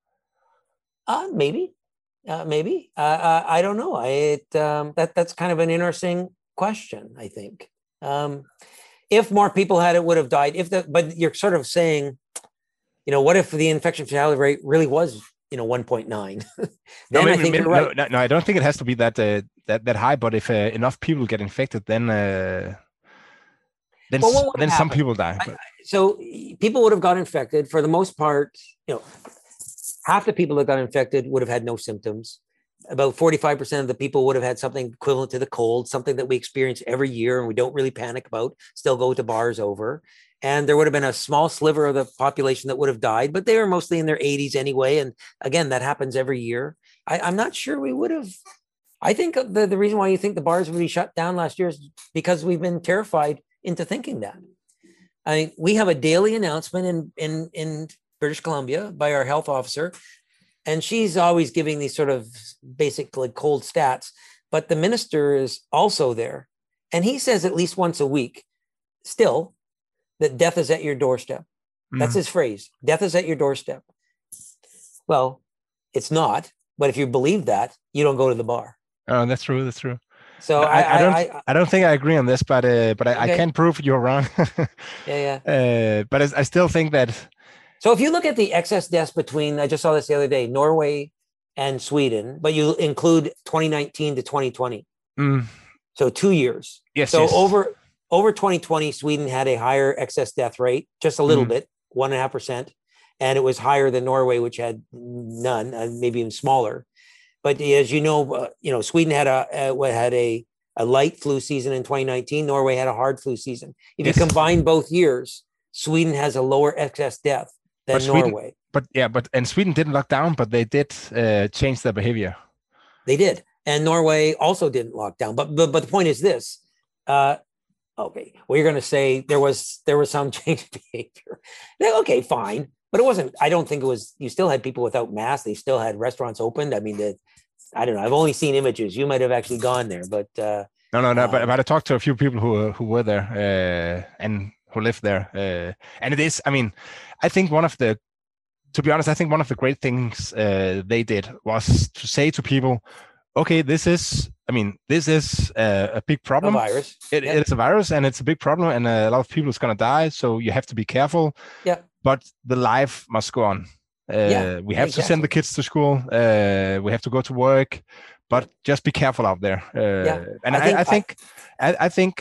Uh, maybe, uh, maybe. Uh, uh, I don't know. I it, um, that that's kind of an interesting question. I think um, if more people had it, would have died. If the but you're sort of saying, you know, what if the infection fatality rate really was, you know, one point nine? Then no, maybe, I think maybe, you're right. No, no, I don't think it has to be that uh, that that high. But if uh, enough people get infected, then uh, then well, then happen? some people die. But. I, so people would have got infected for the most part. You know, half the people that got infected would have had no symptoms. About forty-five percent of the people would have had something equivalent to the cold, something that we experience every year and we don't really panic about, still go to bars over. And there would have been a small sliver of the population that would have died, but they were mostly in their eighties anyway. And again, that happens every year. I, I'm not sure we would have. I think the, the reason why you think the bars would be shut down last year is because we've been terrified into thinking that. I mean, we have a daily announcement in, in, in British Columbia, by our health officer. And she's always giving these sort of basic like cold stats. But the minister is also there. And he says at least once a week, still, that death is at your doorstep. Mm. That's his phrase. Death is at your doorstep. Well, it's not. But if you believe that, you don't go to the bar. Oh, that's true. That's true. So I, I, I don't. I, I don't think I agree on this, but uh, but I, okay. I can't prove you're wrong. yeah, yeah. Uh, but I, I still think that. So if you look at the excess deaths between, I just saw this the other day, Norway and Sweden, but you include twenty nineteen to twenty twenty. Mm. So two years. Yes. So yes. over over twenty twenty, Sweden had a higher excess death rate, just a little mm. bit, one and a half percent, and it was higher than Norway, which had none, uh, maybe even smaller. But as you know, uh, you know, Sweden had a uh, had a a light flu season in twenty nineteen. Norway had a hard flu season. If yes. you combine both years, Sweden has a lower excess death than but Norway. Sweden, but yeah, but and Sweden didn't lock down, but they did uh, change their behavior. They did, and Norway also didn't lock down. But but but the point is this. Uh, okay, well, you're going to say there was there was some change in behavior. Okay, fine. But it wasn't, I don't think it was, you still had people without masks. They still had restaurants opened. I mean, the, I don't know. I've only seen images. You might have actually gone there, but. Uh, no, no, no. Um, but, but I talked to a few people who who were there uh, and who lived there. Uh, and it is, I mean, I think one of the, to be honest, I think one of the great things uh, they did was to say to people, okay, this is, I mean, this is a, a big problem. A virus. It, yep. It's a virus and it's a big problem and a lot of people is going to die. So you have to be careful. Yeah. But the life must go on. Uh, yeah, we have exactly. to send the kids to school. Uh, we have to go to work, but just be careful out there. Uh, yeah. And I think, I, I think, I, I think,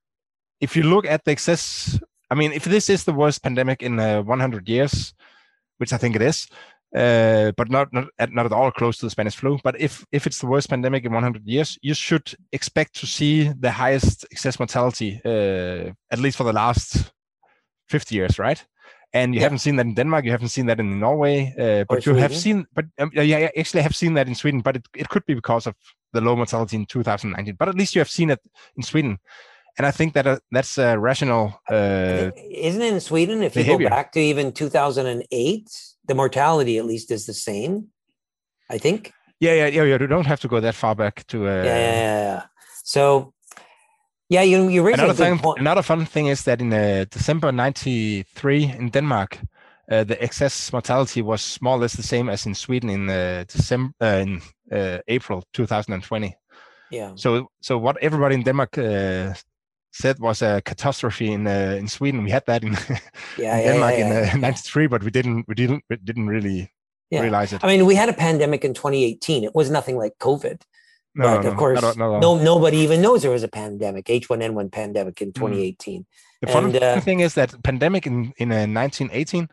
if you look at the excess, I mean, if this is the worst pandemic in uh, one hundred years, which I think it is, uh, but not not at, not at all close to the Spanish flu. But if if it's the worst pandemic in one hundred years, you should expect to see the highest excess mortality, uh, at least for the last fifty years, right? And you yeah. haven't seen that in Denmark, you haven't seen that in Norway, uh, but you have seen, but um, yeah, you actually have seen that in Sweden, but it, it could be because of the low mortality in two thousand nineteen, but at least you have seen it in Sweden. And I think that uh, that's a rational uh, Isn't it in Sweden, if behavior. You go back to even two thousand eight, the mortality at least is the same, I think. Yeah, yeah, yeah, you don't have to go that far back to... Uh, yeah, yeah, yeah, yeah. So... Yeah, you you raise another a good thing. point. Another fun thing is that in uh, December ninety-three in Denmark, uh, the excess mortality was more or less the same as in Sweden in uh, December uh, in uh, April two thousand twenty. Yeah. So so what everybody in Denmark uh, said was a catastrophe in uh, in Sweden. We had that in, yeah, in yeah, Denmark yeah, yeah, in ninety-three, uh, yeah. but we didn't we didn't we didn't really yeah. realize it. I mean, we had a pandemic in twenty eighteen. It was nothing like COVID. No, but no, of course, no, no, no. no, nobody even knows there was a pandemic, H one N one pandemic in twenty eighteen. The fun and, uh, thing is that pandemic in in uh, nineteen eighteen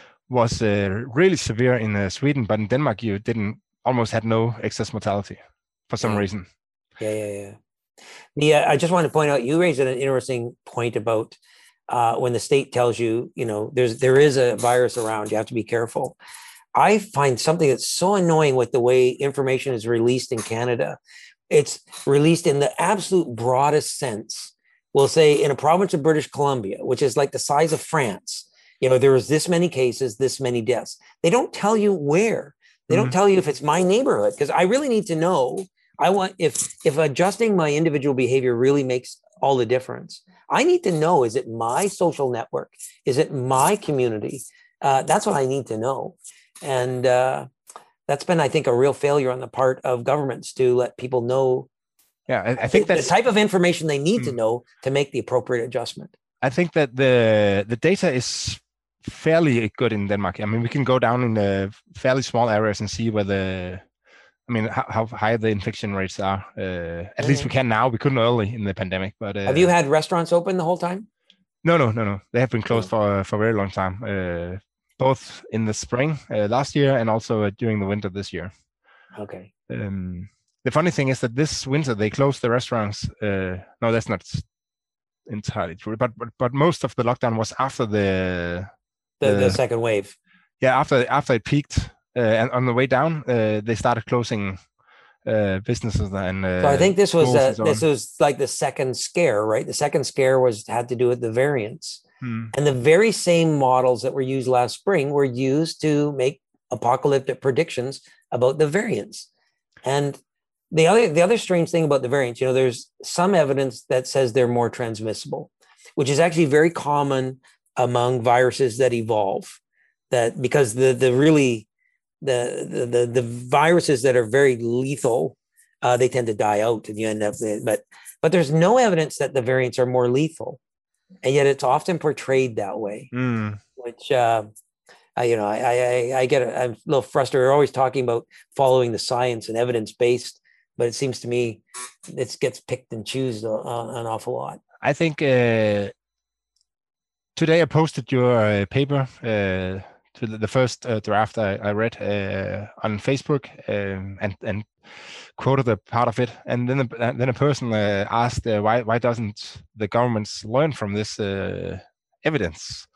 was uh, really severe in uh, Sweden, but in Denmark you didn't almost had no excess mortality for some yeah. reason. Yeah, yeah, yeah. Yeah, I just want to point out you raised an interesting point about uh, when the state tells you, you know, there's there is a virus around, you have to be careful. I find something that's so annoying with the way information is released in Canada. It's released in the absolute broadest sense. We'll say in a province of British Columbia, which is like the size of France, you know, there was this many cases, this many deaths. They don't tell you where. They mm-hmm. don't tell you if it's my neighborhood, because I really need to know. I want if if adjusting my individual behavior really makes all the difference. I need to know, is it my social network? Is it my community? Uh, that's what I need to know. And uh, that's been, I think, a real failure on the part of governments to let people know. Yeah, I, I think that's the type of information they need mm. to know to make the appropriate adjustment. I think that the the data is fairly good in Denmark. I mean, we can go down in the fairly small areas and see where the, I mean, how, how high the infection rates are. Uh, at mm-hmm. least we can now. We couldn't early in the pandemic. But uh, have you had restaurants open the whole time? No, no, no, no. They have been closed oh. for for a very long time. Uh, both in the spring uh, last year and also uh, during the winter this year. Okay. Um, the funny thing is that this winter they closed the restaurants. Uh, no, that's not entirely true. But, but but most of the lockdown was after the the, the, the second wave. Yeah, after after it peaked uh, and on the way down, uh, they started closing uh, businesses and. Uh, so I think this was uh, so this was like the second scare, right? The second scare was had to do with the variants. Hmm. And the very same models that were used last spring were used to make apocalyptic predictions about the variants. And the other, the other strange thing about the variants, you know, there's some evidence that says they're more transmissible, which is actually very common among viruses that evolve. That because the the really the the the, the viruses that are very lethal, uh, they tend to die out, and you end up. But but there's no evidence that the variants are more lethal, and yet it's often portrayed that way. Mm. Which uh, I, you know, I I I get I'm a little frustrated. We're always talking about following the science and evidence based, but it seems to me it gets picked and chosen uh, an awful lot. I think uh, today I posted your uh, paper. Uh, to the, the first uh, draft I, I read uh, on Facebook um, and and quoted a part of it, and then a, then a person uh, asked uh, why why doesn't the governments learn from this uh, evidence?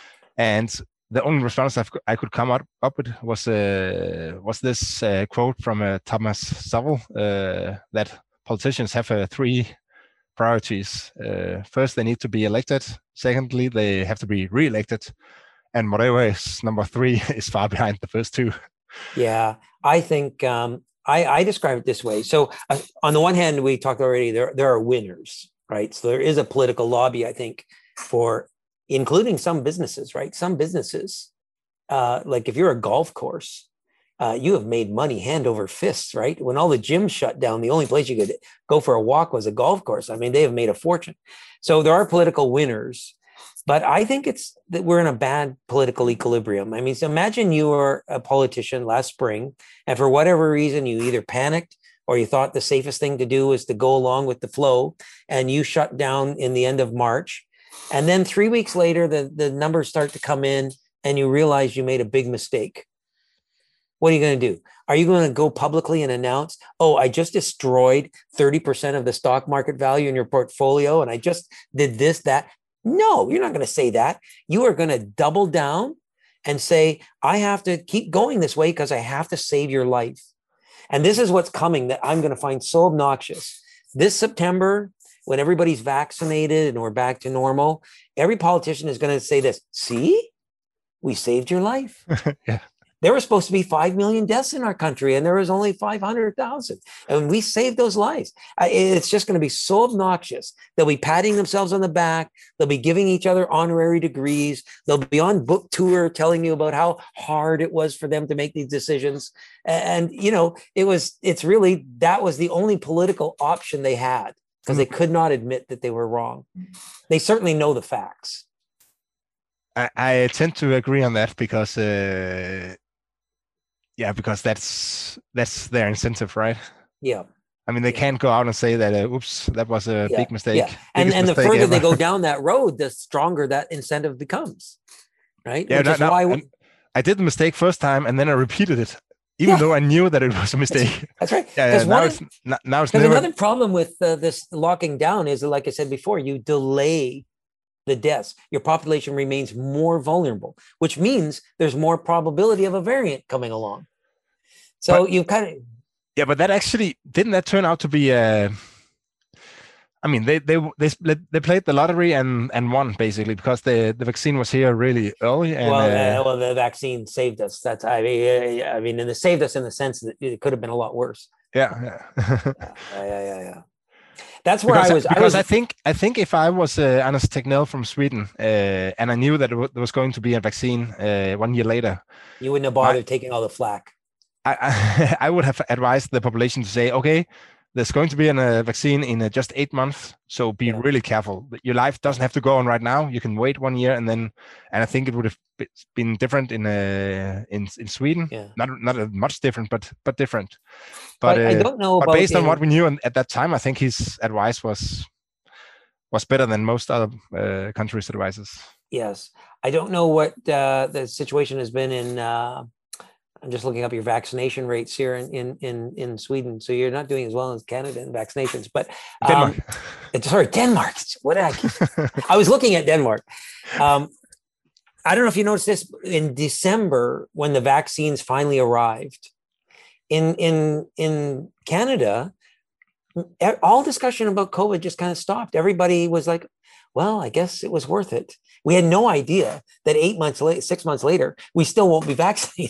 And the only response I've, I could come up, up with was uh, was this uh, quote from uh, Thomas Sowell uh, that politicians have uh, three priorities. Uh, first, they need to be elected. Secondly, they have to be re-elected. And whatever is number three is far behind the first two. Yeah, I think um, I, I describe it this way. So uh, on the one hand, we talked already, there, there are winners, right? So there is a political lobby, I think, for including some businesses, right? Some businesses, uh, like if you're a golf course, uh, you have made money hand over fists, right? When all the gyms shut down, the only place you could go for a walk was a golf course. I mean, they have made a fortune. So there are political winners. But I think it's that we're in a bad political equilibrium. I mean, so imagine you were a politician last spring, and for whatever reason, you either panicked or you thought the safest thing to do was to go along with the flow, and you shut down in the end of March. And then three weeks later, the, the numbers start to come in, and you realize you made a big mistake. What are you going to do? Are you going to go publicly and announce, oh, I just destroyed thirty percent of the stock market value in your portfolio, and I just did this, that? No, you're not going to say that. You are going to double down and say, I have to keep going this way because I have to save your life. And this is what's coming that I'm going to find so obnoxious. This September, when everybody's vaccinated and we're back to normal, every politician is going to say this, see, we saved your life. Yeah. There were supposed to be five million deaths in our country, and there was only five hundred thousand. And we saved those lives. It's just going to be so obnoxious. They'll be patting themselves on the back. They'll be giving each other honorary degrees. They'll be on book tour telling you about how hard it was for them to make these decisions. And, you know, it was, it's really, that was the only political option they had because they could not admit that they were wrong. They certainly know the facts. I, I tend to agree on that because, uh, yeah, because that's that's their incentive, right? Yeah. I mean, they yeah. can't go out and say that, uh, oops, that was a yeah. big mistake. Yeah. And, and the mistake further ever. they go down that road, the stronger that incentive becomes, right? Yeah, Which no, is no, why we, I did the mistake first time and then I repeated it, even yeah. though I knew that it was a mistake. That's right. Yeah, yeah, now, it's, now it's never... another problem with uh, this locking down is, like I said before, you delay the deaths. Your population remains more vulnerable, which means there's more probability of a variant coming along. So but, you kind of, yeah, but that actually didn't that turn out to be? Uh, I mean, they they they they played the lottery and and won basically because the the vaccine was here really early. And, well, uh, uh, well, the vaccine saved us. That's I mean, I mean, and it saved us in the sense that it could have been a lot worse. Yeah, yeah, yeah, yeah, yeah, yeah. That's where because I was. I, because I, was, I think I think if I was uh, Anders Tegnell from Sweden uh, and I knew that it w- there was going to be a vaccine uh, one year later, you wouldn't have bothered my, taking all the flack. I, I, I would have advised the population to say, okay, there's going to be a uh, vaccine in uh, just eight months, so be yeah. really careful. Your life doesn't have to go on right now. You can wait one year, and then, and I think it would have been different in uh, in in Sweden. Yeah. Not not much different, but but different. But I, uh, I don't know. But about based in... on what we knew at that time, I think his advice was was better than most other uh, countries' advices. Yes, I don't know what uh, the situation has been in. Uh... I'm just looking up your vaccination rates here in, in, in, in Sweden. So you're not doing as well as Canada in vaccinations, but um, Denmark. Sorry, Denmark. What did I keep? I was looking at Denmark. Um, I don't know if you noticed this in December when the vaccines finally arrived in, in, in Canada, all discussion about COVID just kind of stopped. Everybody was like, well, I guess it was worth it. We had no idea that eight months later, six months later, we still won't be vaccinated.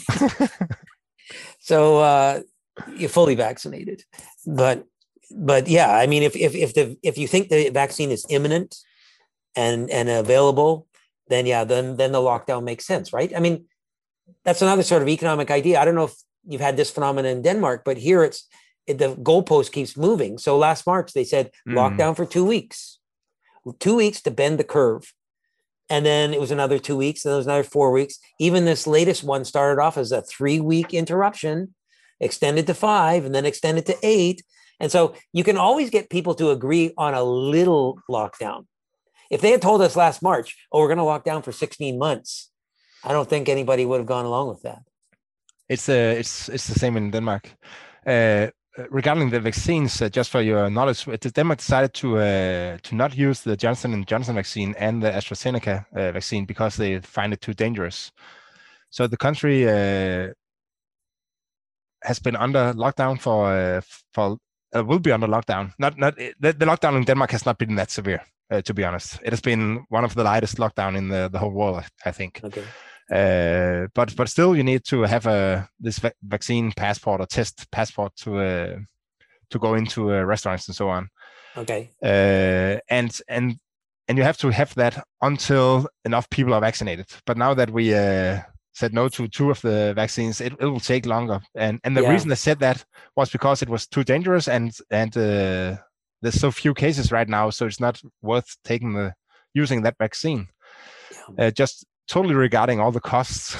So uh, you're fully vaccinated. But but yeah, I mean, if if if the if you think the vaccine is imminent and and available, then yeah, then then the lockdown makes sense, right? I mean, that's another sort of economic idea. I don't know if you've had this phenomenon in Denmark, but here it's it, the goalpost keeps moving. So last March they said mm. lockdown for two weeks, two weeks to bend the curve, and then it was another two weeks, and then it was another four weeks. Even this latest one started off as a three-week interruption, extended to five, and then extended to eight. And so you can always get people to agree on a little lockdown. If they had told us last March, oh, we're going to lock down for sixteen months, I don't think anybody would have gone along with that. It's uh, it's it's the same in Denmark. Uh, regarding the vaccines, uh, just for your knowledge, Denmark decided to uh, to not use the Johnson and Johnson vaccine and the AstraZeneca uh, vaccine because they find it too dangerous. So the country uh, has been under lockdown for uh, for uh, will be under lockdown. Not not the, the lockdown in Denmark has not been that severe, uh, to be honest. It has been one of the lightest lockdown in the, the whole world, I think. Okay. Uh, but but still, you need to have a this va- vaccine passport or test passport to uh, to go into uh, restaurants and so on. Okay. Uh, and and and you have to have that until enough people are vaccinated. But now that we uh, said no to two of the vaccines, it, it will take longer. And and the yeah. reason they said that was because it was too dangerous, and and uh, there's so few cases right now, so it's not worth taking the using that vaccine. Yeah. Uh, just totally regarding all the costs,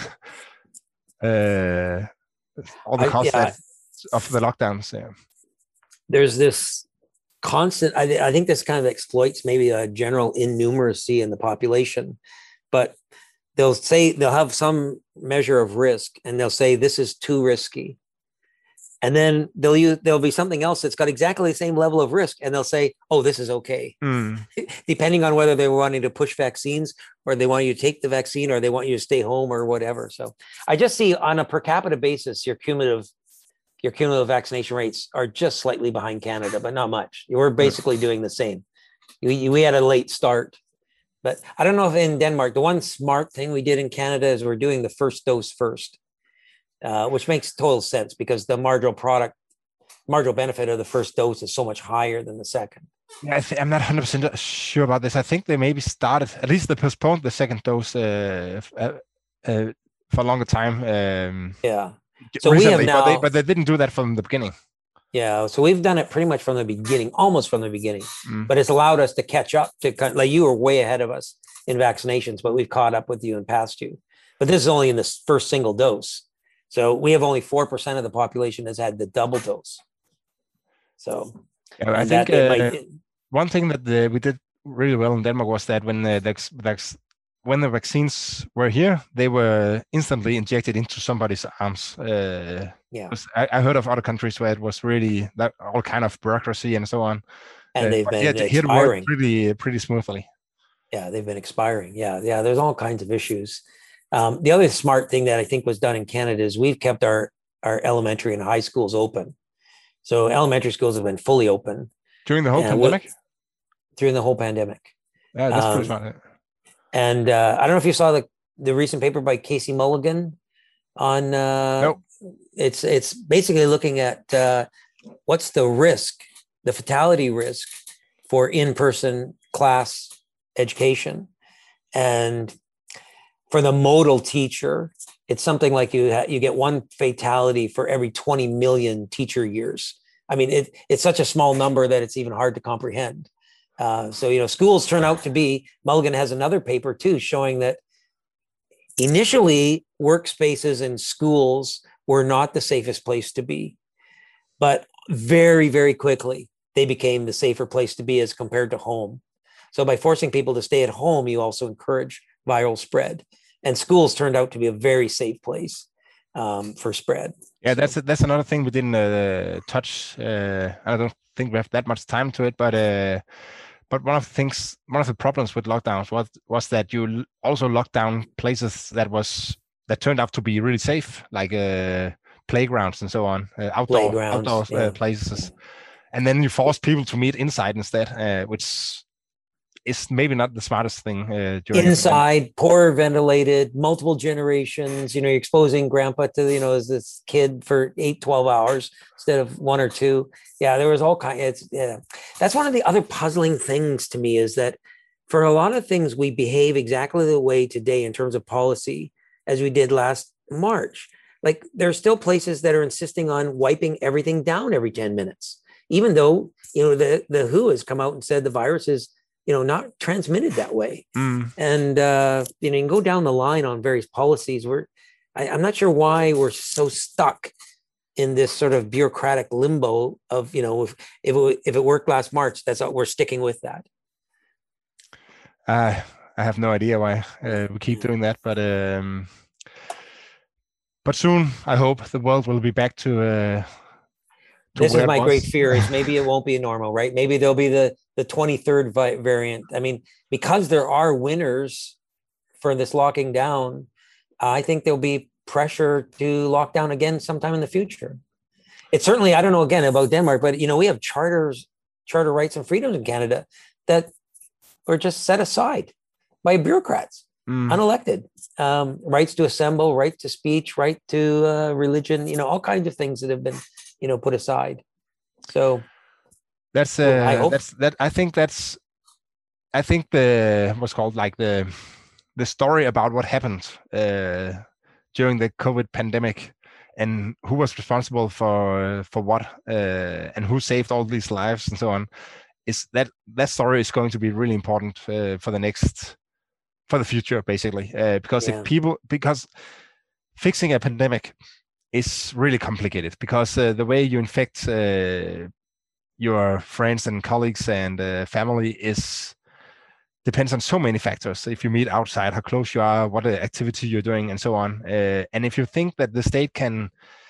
uh, all the costs I, yeah. that, of the lockdowns. Yeah. There's this constant, I, I think this kind of exploits maybe a general innumeracy in the population, but they'll say, they'll have some measure of risk and they'll say, this is too risky. And then they'll use, there'll be something else that's got exactly the same level of risk. And they'll say, oh, this is okay. Mm. Depending on whether they were wanting to push vaccines or they want you to take the vaccine or they want you to stay home or whatever. So I just see on a per capita basis, your cumulative, your cumulative vaccination rates are just slightly behind Canada, but not much. We're basically doing the same. We, we had a late start, but I don't know if in Denmark, the one smart thing we did in Canada is we're doing the first dose first. Uh, which makes total sense because the marginal product, marginal benefit of the first dose is so much higher than the second. Yeah, I th- I'm not one hundred percent sure about this. I think they maybe started, at least they postponed the second dose uh, uh, uh, for a longer time. Um, yeah. So recently, we have now, but they, but they didn't do that from the beginning. Yeah. So we've done it pretty much from the beginning, almost from the beginning. Mm. But it's allowed us to catch up to, like you were way ahead of us in vaccinations, but we've caught up with you and passed you. But this is only in the first single dose. So we have only four percent of the population has had the double dose. So yeah, I think uh, might... one thing that the, we did really well in Denmark was that when the, the when the vaccines were here, they were instantly injected into somebody's arms. Uh, yeah, I, I heard of other countries where it was really that all kind of bureaucracy and so on. And uh, they've been here, expiring. Here worked pretty pretty smoothly. Yeah, they've been expiring. Yeah, yeah. There's all kinds of issues. Um, the other smart thing that I think was done in Canada is we've kept our, our elementary and high schools open. So elementary schools have been fully open. During the whole pandemic? During the whole pandemic. Yeah, that's um, pretty smart. And uh, I don't know if you saw the, the recent paper by Casey Mulligan on, uh, nope. it's, it's basically looking at uh, what's the risk, the fatality risk for in-person class education. And for the modal teacher, it's something like you ha- you get one fatality for every twenty million teacher years. I mean, it, it's such a small number that it's even hard to comprehend. Uh, so, you know, schools turn out to be, Mulligan has another paper too, showing that initially workspaces and schools were not the safest place to be, but very, very quickly, they became the safer place to be as compared to home. So by forcing people to stay at home, you also encourage viral spread. And schools turned out to be a very safe place um, for spread. Yeah, that's that's another thing we didn't uh, touch. Uh, I don't think we have that much time to it, but uh, but one of the things, one of the problems with lockdowns was was that you also locked down places that was that turned out to be really safe, like uh, playgrounds and so on, uh, outdoor outdoor yeah. uh, places, and then you force people to meet inside instead, uh, which is maybe not the smartest thing. Uh, during Inside, poor ventilated, multiple generations. You know, you're exposing grandpa to, you know, as this kid for eight, twelve hours instead of one or two. Yeah, there was all kinds. It's yeah. That's one of the other puzzling things to me is that for a lot of things we behave exactly the way today in terms of policy as we did last March. Like there are still places that are insisting on wiping everything down every ten minutes, even though, you know, the, the W H O has come out and said the virus is, you know, not transmitted that way. Mm. And, uh, you know, you can go down the line on various policies where I, I'm not sure why we're so stuck in this sort of bureaucratic limbo of, you know, if, if, it, if it worked last March, that's what we're sticking with that. Uh, I have no idea why uh, we keep doing that, but um, but soon I hope the world will be back to. Uh, to this is my was. great fear: is maybe it won't be normal, right? Maybe there'll be the the twenty-third vi- variant. I mean, because there are winners for this locking down, I think there'll be pressure to lock down again sometime in the future. It's certainly, I don't know again about Denmark, but you know, we have charters, charter rights and freedoms in Canada that were just set aside by bureaucrats, mm. unelected. Um, rights to assemble, right to speech, right to uh, religion, you know, all kinds of things that have been, you know, put aside. So that's uh, I hope. that's that. I think that's, I think the what's called like the the story about what happened uh, during the COVID pandemic and who was responsible for for what uh, and who saved all these lives and so on. Is that that story is going to be really important uh, for the next for the future basically uh, because yeah. if people because fixing a pandemic is really complicated because uh, the way you infect uh, your friends and colleagues and uh, family is depends on so many factors. If you meet outside, how close you are, what activity you're doing, and so on. Uh, and if you think that the state can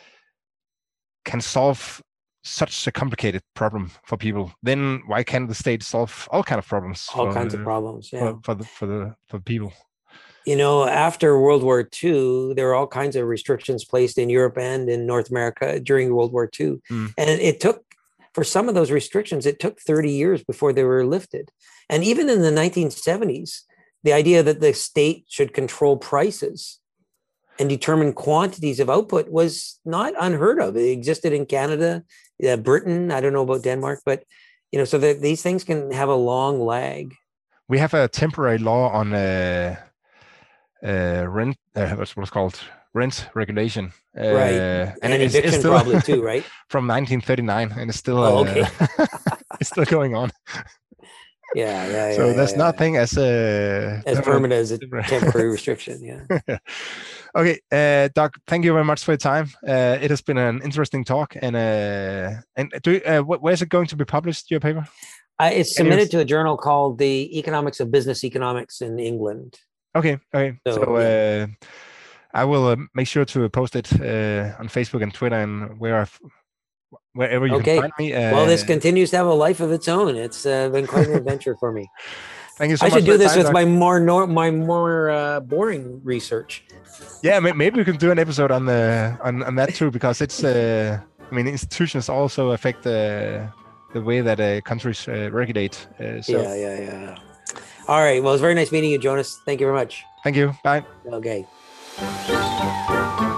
can solve such a complicated problem for people, then why can't the state solve all kind of problems? All for, kinds of problems, yeah. For, for the for the for people. You know, after World War Two, there were all kinds of restrictions placed in Europe and in North America during World War Two, mm. and it took for some of those restrictions, it took thirty years before they were lifted. And even in the nineteen seventies, the idea that the state should control prices and determine quantities of output was not unheard of. It existed in Canada, uh, Britain. I don't know about Denmark, but you know, so that these things can have a long lag. We have a temporary law on uh, uh, rent. Uh, what's what's called rent regulation, uh, right? And, and it's, eviction it's still probably too, right? From nineteen thirty-nine, and it's still oh, okay. uh, it's still going on. Yeah, yeah, yeah. So yeah, there's yeah, nothing yeah. as a as permanent as a temporary restriction. Yeah. Okay, uh, Doug. Thank you very much for your time. Uh, it has been an interesting talk. And uh, and do you, uh, where's it going to be published? Your paper? Uh, it's submitted to a journal called the Economics of Business Economics in England. Okay. Okay. So. so yeah. uh, I will uh, make sure to post it uh, on Facebook and Twitter and where I've, wherever you okay. can find me. Uh, well, this continues to have a life of its own. It's uh, been quite an adventure for me. Thank you so I much. I should do this time, with Doug. my more nor- my more uh, boring research. Yeah, maybe we can do an episode on the on, on that too, because it's. Uh, I mean, institutions also affect uh, the way that uh, countries uh, regulate. Uh, so. Yeah, yeah, yeah. All right. Well, it's very nice meeting you, Jonas. Thank you very much. Thank you. Bye. Okay.